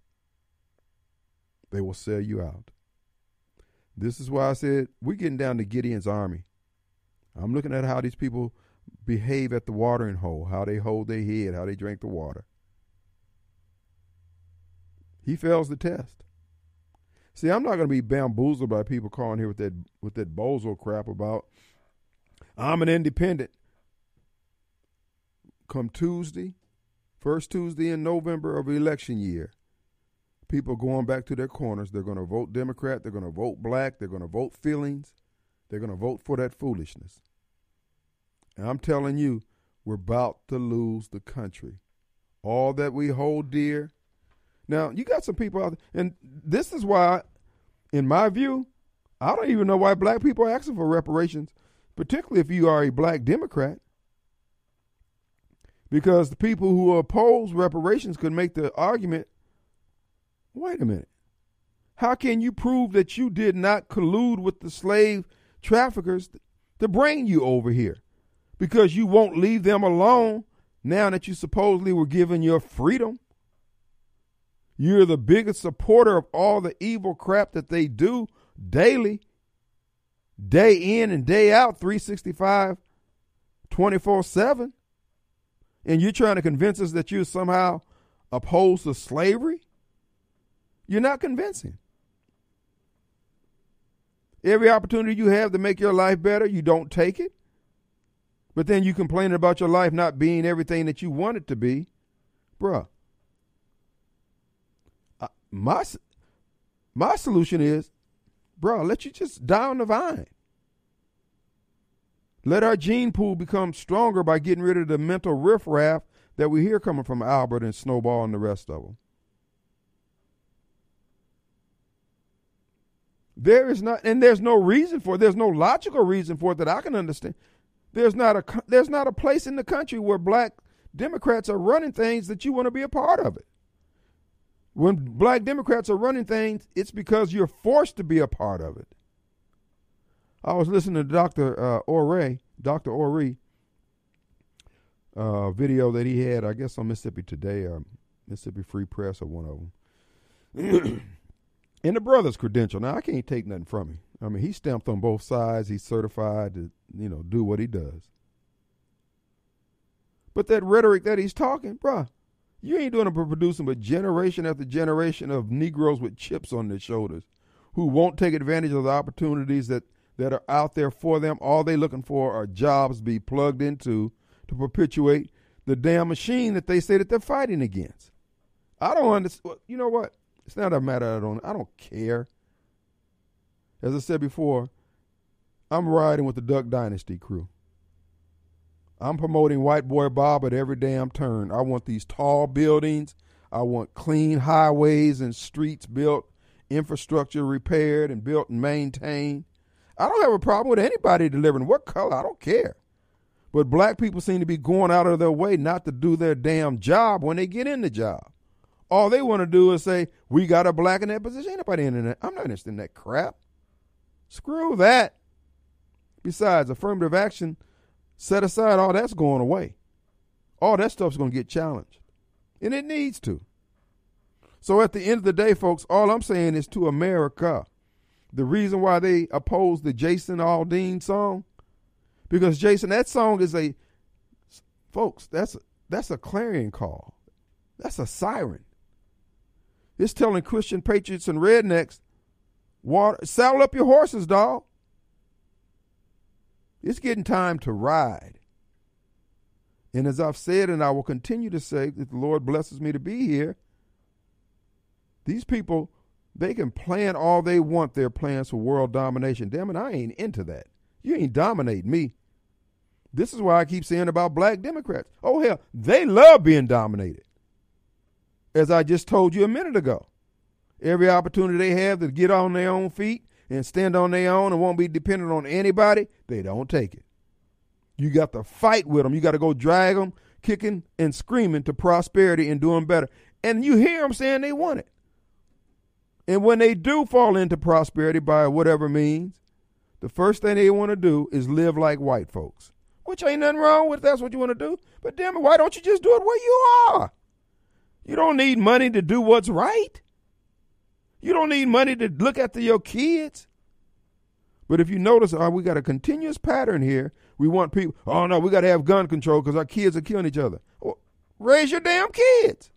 S2: They will sell you out. This is why I said we're getting down to Gideon's army. I'm looking at how these people behave at the watering hole, how they hold their head, how they drink the water. He fails the test. See, I'm not going to be bamboozled by people calling here with that with that bozo crap about I'm an independent. Come Tuesday, first Tuesday in November of election year, people going back to their corners. They're going to vote Democrat. They're going to vote black. They're going to vote feelings. They're going to vote for that foolishness. And I'm telling you, we're about to lose the country. All that we hold dear. Now, you got some people out there, and this is why, in my view, I don't even know why black people are asking for reparations, particularly if you are a black Democrat. Because the people who oppose reparations could make the argument, wait a minute, how can you prove that you did not collude with the slave traffickers to bring you over here? Because you won't leave them alone now that you supposedly were given your freedom. You're the biggest supporter of all the evil crap that they do daily, day in and day out, three sixty-five, twenty-four seven. And you're trying to convince us that you're somehow opposed to slavery? You're not convincing. Every opportunity you have to make your life better, you don't take it. But then you complain about your life not being everything that you want it to be. Bruh. Uh, my, my solution is, bruh, let you just die on the vine. Let our gene pool become stronger by getting rid of the mental riffraff that we hear coming from Albert and Snowball and the rest of them. There is not, and there's no reason for it. There's no logical reason for it that I can understand. There's not a, there's not a place in the country where black Democrats are running things that you want to be a part of it. When black Democrats are running things, it's because you're forced to be a part of it. I was listening to Doctor Uh, Ore, Doctor Ore, uh, video that he had, I guess, on Mississippi Today or Mississippi Free Press or one of them. And the brother's credential. Now, I can't take nothing from him. I mean, he's stamped on both sides. He's certified to, you know, do what he does. But that rhetoric that he's talking, bruh, you ain't doing it for producing but generation after generation of Negroes with chips on their shoulders who won't take advantage of the opportunities that, that are out there for them. All they looking for are jobs to be plugged into to perpetuate the damn machine that they say that they're fighting against. I don't understand. You know what? It's not a matter I don't I don't care. As I said before, I'm riding with the Duck Dynasty crew. I'm promoting White Boy Bob at every damn turn. I want these tall buildings. I want clean highways and streets built, infrastructure repaired and built and maintained. I don't have a problem with anybody delivering what color. I don't care. But black people seem to be going out of their way not to do their damn job when they get in the job. All they want to do is say, we got a black in that position. Ain't nobody in that. I'm not interested in that crap. Screw that. Besides, affirmative action, set aside, all that's going away. All that stuff's going to get challenged. And it needs to. So at the end of the day, folks, all I'm saying is to America, the reason why they oppose the Jason Aldean song, because Jason, that song is a, folks, that's a, that's a clarion call. That's a siren. It's telling Christian patriots and rednecks, water, saddle up your horses, dog. It's getting time to ride. And as I've said, and I will continue to say, that the Lord blesses me to be here, these people, they can plan all they want, their plans for world domination. Damn it, I ain't into that. You ain't dominating me. This is why I keep saying about black Democrats. Oh, hell, they love being dominated. As I just told you a minute ago, every opportunity they have to get on their own feet and stand on their own and won't be dependent on anybody, they don't take it. You got to fight with them. You got to go drag them, kicking and screaming to prosperity and doing better. And you hear them saying they want it. And when they do fall into prosperity by whatever means, the first thing they want to do is live like white folks, which ain't nothing wrong with if that's what you want to do. But damn it, why don't you just do it where you are? You don't need money to do what's right. You don't need money to look after your kids. But if you notice, uh, we got a continuous pattern here. We want people, oh, no, we got to have gun control because our kids are killing each other. Well, raise your damn kids.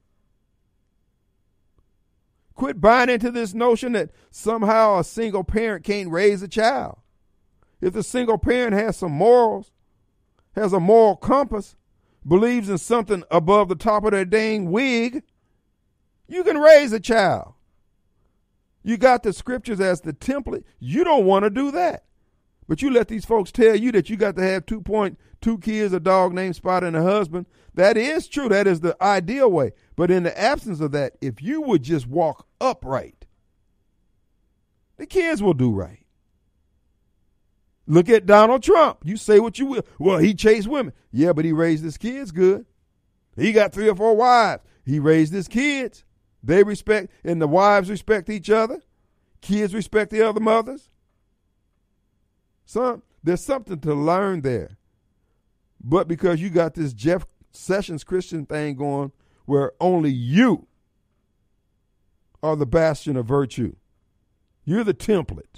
S2: Quit buying into this notion that somehow a single parent can't raise a child. If the single parent has some morals, has a moral compass, believes in something above the top of their dang wig, you can raise a child. You got the scriptures as the template. You don't want to do that. But you let these folks tell you that you got to have two point two kids, a dog named Spot, and a husband. That is true. That is the ideal way. But in the absence of that, if you would just walk upright, the kids will do right. Look at Donald Trump. You say what you will. Well, he chased women. Yeah, but he raised his kids good. He got three or four wives. He raised his kids. They respect, and the wives respect each other. Kids respect the other mothers. Son, there's something to learn there. But because you got this Jeff Sessions Christian thing going where only you are the bastion of virtue. You're the template.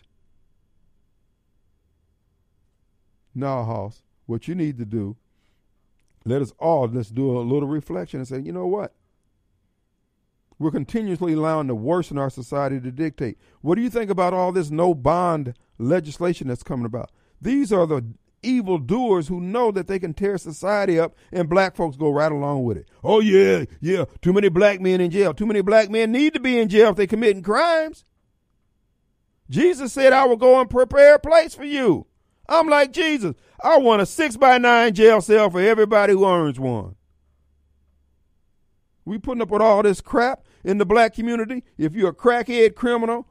S2: Now, Hoss, what you need to do, let us all, let's do a little reflection and say, you know what? We're continuously allowing the worst in our society to dictate. What do you think about all this no bond legislation that's coming about? These are the evil doers who know that they can tear society up, and black folks go right along with it. Oh, yeah, yeah, too many black men in jail. Too many black men need to be in jail if they're committing crimes. Jesus said, I will go and prepare a place for you. I'm like Jesus. I want a six by nine jail cell for everybody who earns one. We putting up with all this crap in the black community. If you're a crackhead criminal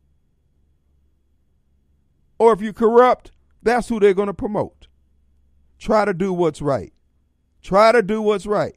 S2: or if you're corrupt, that's who they're going to promote. Try to do what's right. Try to do what's right.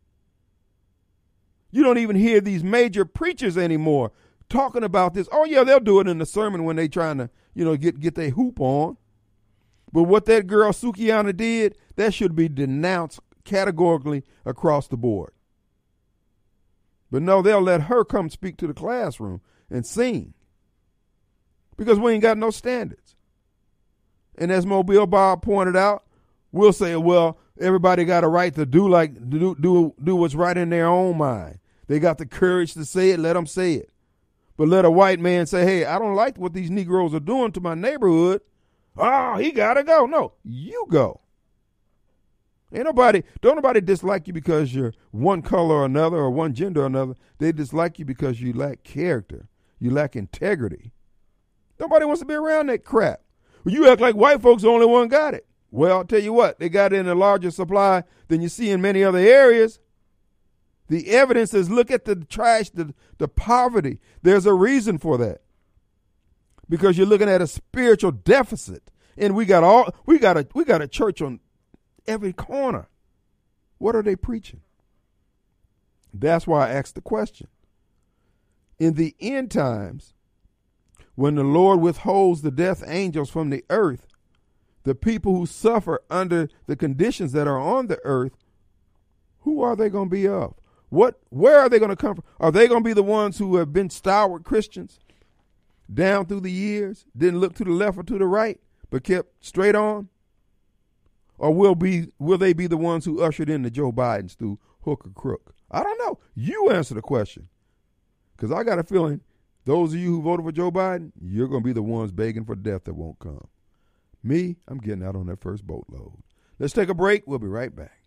S2: You don't even hear these major preachers anymore talking about this. Oh, yeah, they'll do it in the sermon when they trying to, you know, get, get their hoop on. But what that girl Sukiana did, that should be denounced categorically across the board. But no, they'll let her come speak to the classroom and sing because we ain't got no standards. And as Mobile Bob pointed out, we'll say, well, everybody got a right to do like do do do what's right in their own mind. They got the courage to say it. Let them say it. But let a white man say, hey, I don't like what these Negroes are doing to my neighborhood. Oh, he got to go. No, you go. Ain't nobody, don't nobody dislike you because you're one color or another or one gender or another. They dislike you because you lack character. You lack integrity. Nobody wants to be around that crap. Well, you act like white folks the only one got it. Well, I'll tell you what, they got it in a larger supply than you see in many other areas. The evidence is look at the trash, the, the poverty. There's a reason for that. Because you're looking at a spiritual deficit. And we got all we got a we got a church on every corner. What are they preaching? That's why I asked the question. In the end times, when the Lord withholds the death angels from the earth, the people who suffer under the conditions that are on the earth, who are they going to be of? What? Where are they going to come from? Are they going to be the ones who have been stalwart Christians down through the years, didn't look to the left or to the right, but kept straight on? Or will be will they be the ones who ushered in the Joe Bidens through hook or crook? I don't know. You answer the question. Because I got a feeling those of you who voted for Joe Biden, you're going to be the ones begging for death that won't come. Me, I'm getting out on that first boatload. Let's take a break. We'll be right back.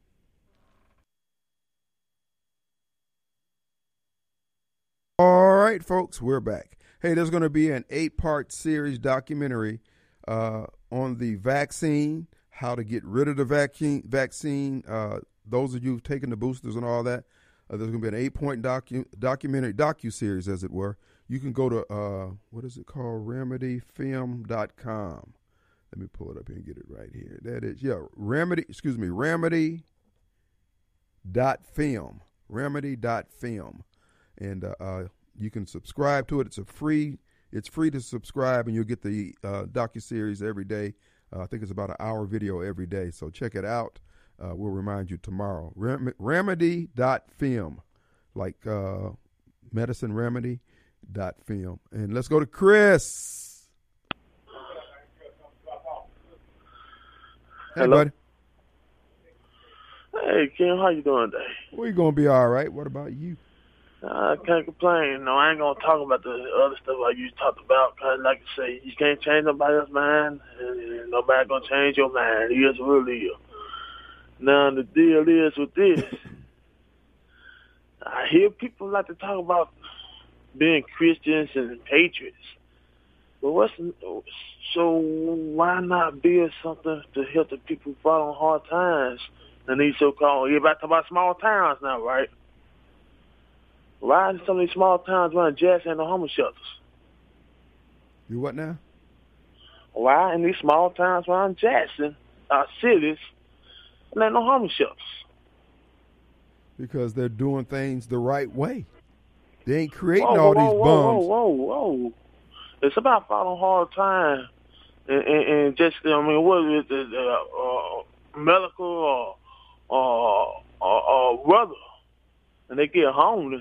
S2: All right, folks, we're back. Hey, there's going to be an eight-part series documentary uh, on the vaccine, how to get rid of the vaccine. Vaccine. Uh, those of you who've taken the boosters and all that, uh, there's going to be an eight-point docu- documentary, docu-series, as it were. You can go to, uh, what is it called, remedy film dot com. Let me pull it up here and get it right here. That is, yeah, Remedy, excuse me, remedy dot film, remedy dot film. And uh, uh, you can subscribe to it. It's a free, it's free to subscribe, and you'll get the uh, docu-series every day. Uh, I think it's about an hour video every day, so check it out. Uh, we'll remind you tomorrow. Rem- remedy dot film, like uh, medicine remedy dot film. And let's go to Chris. Hey,
S10: Hello.
S2: buddy.
S10: Hey, Kim, how you doing today?
S2: We're going to be all right. What about you?
S10: I can't complain. No, I ain't going to talk about the other stuff like you talked about. Cause like I say, you can't change nobody's mind, and nobody going to change your mind. It is what it is. Now, the deal is with this. I hear people like to talk about being Christians and patriots. But what's so why not build something to help the people fall on hard times? And these so-called, you're about to talk about small towns now, right? Why in some of these small towns around Jackson and the homeless shelters?
S2: You what now?
S10: Why in these small towns around Jackson, our cities, and there no homeless shelters?
S2: Because they're doing things the right way. They ain't creating
S10: whoa,
S2: all
S10: whoa,
S2: these
S10: whoa,
S2: bums.
S10: Whoa, whoa, whoa! It's about following hard time, and, and, and just I mean, what is it, uh, uh, medical or or, or or weather, and they get homeless.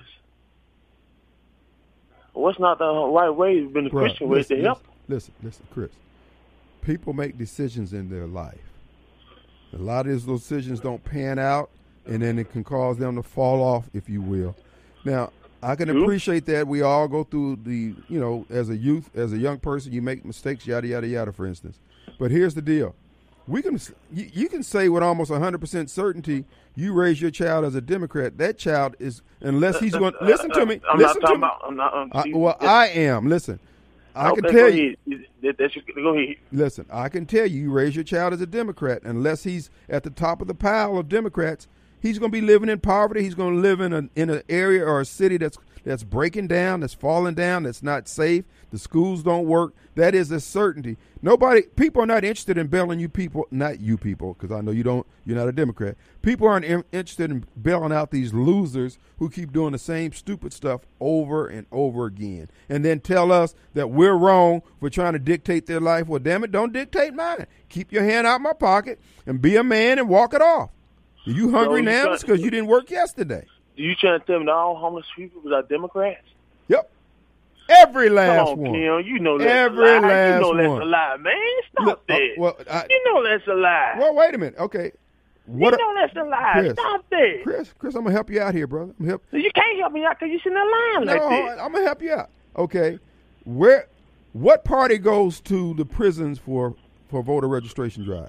S10: What's not the right way? Been the
S2: Bruh,
S10: Christian way
S2: listen,
S10: to help.
S2: Listen, listen, Chris. People make decisions in their life. A lot of those decisions don't pan out, and then it can cause them to fall off, if you will. Now, I can appreciate that. We all go through the, you know, as a youth, as a young person, you make mistakes, yada, yada, yada, for instance. But here's the deal. We can, you, you can say with almost one hundred percent certainty, you raise your child as a Democrat. That child is, unless he's going to, listen to me.
S10: I'm
S2: listen
S10: not
S2: to
S10: talking
S2: me.
S10: about, I'm not, um,
S2: I, well, I am. Listen, I
S10: okay,
S2: can tell
S10: go
S2: you.
S10: Ahead. That, that should, go ahead.
S2: Listen, I can tell you, you raise your child as a Democrat, unless he's at the top of the pile of Democrats, he's going to be living in poverty. He's going to live in a in an area or a city that's that's breaking down, that's falling down, that's not safe. The schools don't work. That is a certainty. Nobody, people are not interested in bailing you people, not you people, because I know you don't. You're not a Democrat. People aren't in, interested in bailing out these losers who keep doing the same stupid stuff over and over again, and then tell us that we're wrong for trying to dictate their life. Well, damn it, don't dictate mine. Keep your hand out my pocket and be a man and walk it off. Are you hungry
S10: So you
S2: now?
S10: try-
S2: It's because you didn't work yesterday.
S10: You trying to tell me that all homeless people are Democrats?
S2: Yep. Every last
S10: Come on,
S2: one.
S10: Kim, you know that's
S2: Every
S10: a lie.
S2: last
S10: you know that's
S2: one.
S10: a lie, man. Stop
S2: Look, uh,
S10: that.
S2: well, I-
S10: you know that's a lie.
S2: Well, wait a minute. Okay. What
S10: you know that's a lie.
S2: Chris,
S10: Stop that.
S2: Chris, Chris, I'm gonna help you out here, brother. I'm help.
S10: You can't help me out because you're sitting there lying
S2: No,
S10: like that.
S2: I'm gonna help you out. Okay. Where? What party goes to the prisons for for voter registration drive?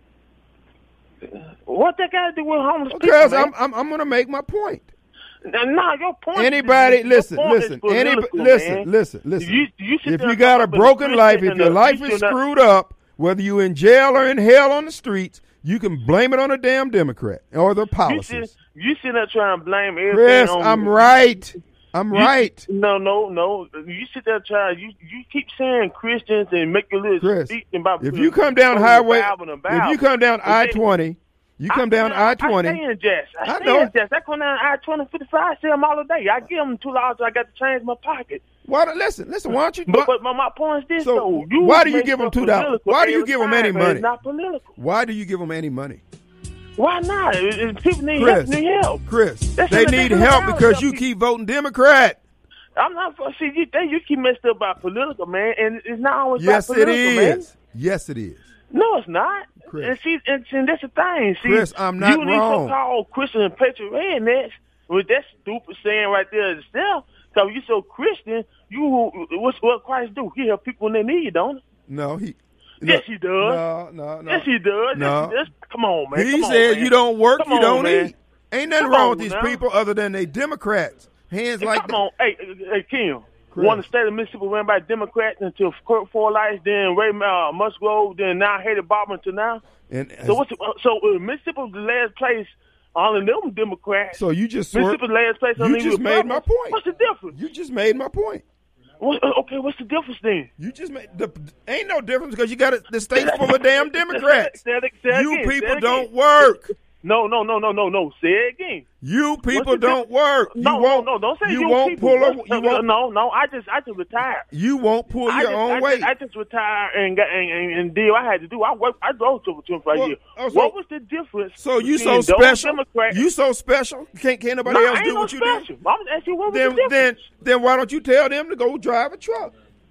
S10: What that got to do with homeless
S2: Because
S10: people,
S2: I'm, I'm I'm gonna make my point.
S10: Now, nah, your point.
S2: Anybody,
S10: is,
S2: listen,
S10: your point
S2: listen,
S10: is
S2: any,
S10: political,
S2: listen,
S10: man.
S2: listen, listen.
S10: You, you sit
S2: If
S10: there
S2: you
S10: and
S2: got a
S10: talk about
S2: broken
S10: the
S2: life,
S10: Christian
S2: if your
S10: and the-
S2: life
S10: you
S2: is
S10: should not-
S2: screwed up, whether you in jail or in hell on the streets, you can blame it on a damn Democrat or their
S10: You
S2: policies.
S10: sit, you sit there trying to blame everything
S2: Chris,
S10: on
S2: I'm right. I'm
S10: You-
S2: right.
S10: No, no, no. You sit there trying. You you keep saying Christians and make your little
S2: Chris,
S10: speech about.
S2: if you come down highway, if you come down
S10: But
S2: I
S10: then-
S2: twenty, you come down I
S10: I
S2: twenty.
S10: stay in Jess. I,
S2: I
S10: stay
S2: know
S10: in
S2: it.
S10: Jess. I come down I twenty fifty-five. I see them all the day. I give them two dollars. I got to change my pocket.
S2: Why? don't- Listen, listen. Why don't you?
S10: But, but my, my point is this,
S2: So,
S10: though. You
S2: why do you
S10: make
S2: give them
S10: stuff
S2: two dollars?
S10: political
S2: Why do you
S10: every
S2: give them any
S10: time, and
S2: money?
S10: It's not political.
S2: Why do you give them any money?
S10: Why not? It- it- people need
S2: Chris,
S10: help. Need help.
S2: Chris,
S10: That's
S2: they
S10: what
S2: need
S10: they
S2: help
S10: do.
S2: because you
S10: Help
S2: keep voting Democrat.
S10: I'm not. See, you think you keep messed up about political, man, and it's not always
S2: Yes,
S10: about
S2: it
S10: political, man.
S2: is. Yes, it is.
S10: No, it's not.
S2: Chris.
S10: And see, and, and that's the thing. See,
S2: Chris, I'm not
S10: you need
S2: wrong.
S10: so-called Christian and patriot rednecks with that stupid saying right there itself. Because you so Christian, you what's what Christ do? He help people when they need, don't he?
S2: No, he.
S10: Yes, he does.
S2: No, no, no.
S10: Yes, he does.
S2: No.
S10: Yes, yes. Come on, man.
S2: He
S10: Come on,
S2: said
S10: man.
S2: you don't work,
S10: Come
S2: you
S10: on,
S2: don't
S10: man.
S2: eat. Ain't nothing
S10: Come
S2: wrong
S10: on
S2: with these
S10: now.
S2: people other than they Democrats. Hands
S10: Hey,
S2: like
S10: come
S2: that.
S10: on, hey, hey, Kim.
S2: Chris.
S10: One the state of Mississippi ran by Democrats until Kurt Forsyth, then Ray uh, Musgrove, then now Haley Barbour until now.
S2: And
S10: So what's the, so uh, Mississippi was the last place on them Democrats.
S2: So you just swerved-
S10: Mississippi last place on
S2: you
S10: them
S2: just made my
S10: Republicans.
S2: point.
S10: What's the difference?
S2: You just made my point.
S10: What, uh, okay, what's the difference then?
S2: You just made the ain't no difference because you got a, the state's full of damn Democrats.
S10: Say it- say it
S2: You
S10: again, say
S2: people
S10: it
S2: don't
S10: again.
S2: work.
S10: No, no, no, no, no, no. Say it again.
S2: You people
S10: What's the
S2: don't
S10: diff-
S2: work.
S10: No,
S2: you won't.
S10: no, no, don't say
S2: you
S10: you
S2: won't
S10: people.
S2: pull. A,
S10: What's-
S2: you won't.
S10: No, no, I just, I just retired.
S2: You won't pull
S10: I
S2: your
S10: just,
S2: own
S10: I
S2: weight.
S10: Just, I just retired and got and, and, and did what I had to do. I worked. I drove to twenty-five
S2: Well,
S10: years.
S2: oh, so-
S10: what was the difference?
S2: So you
S10: between
S2: so
S10: those
S2: special?
S10: Democrats?
S2: You so special? Can't can't nobody
S10: No,
S2: else
S10: I ain't
S2: do
S10: no
S2: what you
S10: special.
S2: do?
S10: I'm asking you what was
S2: Then
S10: the difference?
S2: then then why don't you tell them to go drive a truck?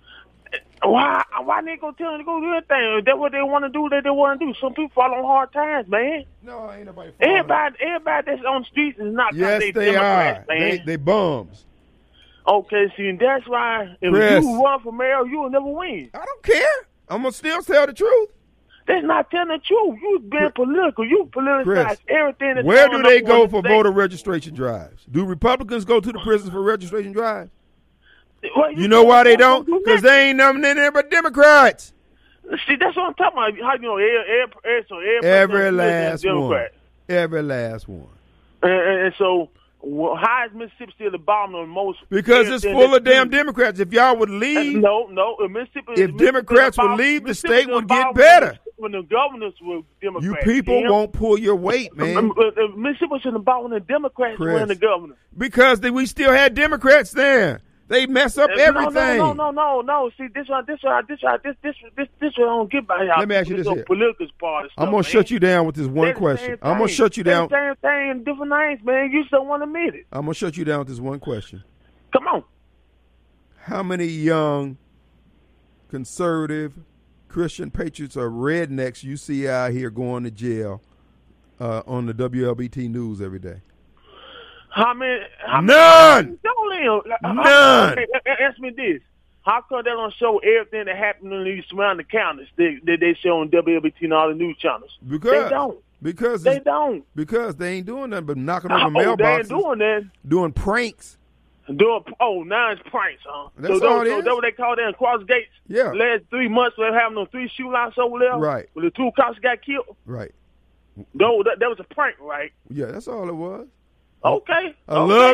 S10: Why? Why they gonna tell them to go do anything? If that's what they want to do, that they want to do. Some people fall on hard times, man.
S2: No, ain't nobody.
S10: Everybody, everybody that's on the streets is not.
S2: Yes,
S10: they,
S2: they
S10: Democrats,
S2: are.
S10: man.
S2: They they bums.
S10: Okay, see, and that's why if
S2: Chris.
S10: you run for mayor, you will never win.
S2: I don't care. I'm gonna still tell the truth.
S10: That's not telling the truth. You being political. You politicize
S2: Chris,
S10: everything. That's
S2: where
S10: going
S2: do they
S10: on
S2: go
S10: in the
S2: for
S10: state.
S2: voter registration drives? Do Republicans go to the prisons for registration drives?
S10: Well,
S2: You know why they don't?
S10: do
S2: Because they ain't nothing in there but Democrats.
S10: See, that's what I'm talking about. How you know every, every, every, so every,
S2: Every
S10: president is a
S2: last one.
S10: Democrat.
S2: Every last one.
S10: And, and, and so Well, how is Mississippi still the bottom of the most?
S2: Because it's full of damn Democrats. If y'all would leave,
S10: no, no. If Mississippi,
S2: if Democrats would leave, the state would get
S10: better.
S2: better.
S10: When the governors were Democrats,
S2: you people
S10: damn.
S2: won't pull your weight, man.
S10: Mississippi was in the bottom when the Democrats
S2: Chris,
S10: were in the governor.
S2: Because they, we still had Democrats there. They mess up
S10: no,
S2: everything.
S10: No, no, no, no, no. See, this one, this one, this one, this, this, this, this one I don't get by y'all.
S2: Let me ask you this, this here.
S10: Political part of stuff,
S2: I'm gonna
S10: man.
S2: shut you down with this one
S10: They're
S2: question. I'm gonna shut you down.
S10: Same thing, different names, man. You just don't want to admit it.
S2: I'm gonna shut you down with this one question.
S10: Come on.
S2: How many young, conservative, Christian patriots or rednecks you see out here going to jail uh, on the W L B T news every day?
S10: How many? How
S2: None.
S10: Many,
S2: None.
S10: Hey, ask me this: how come they don't show everything that happened in these surrounding counties that they, they show on W L B T and all the news channels?
S2: Because
S10: they don't.
S2: Because
S10: they don't.
S2: Because they ain't doing nothing but knocking on
S10: oh,
S2: the mailboxes.
S10: They ain't doing that.
S2: Doing pranks.
S10: Doing oh now it's pranks, huh?
S2: That's
S10: so
S2: all
S10: those,
S2: it
S10: so
S2: is.
S10: that's what they call that in Cross Gates.
S2: Yeah.
S10: The last three months they're having those three shootouts over there.
S2: Right.
S10: Where the two cops got killed.
S2: Right.
S10: No, that, that was a prank, right?
S2: Yeah, that's all it was.
S10: Okay.
S2: I
S10: okay.
S2: love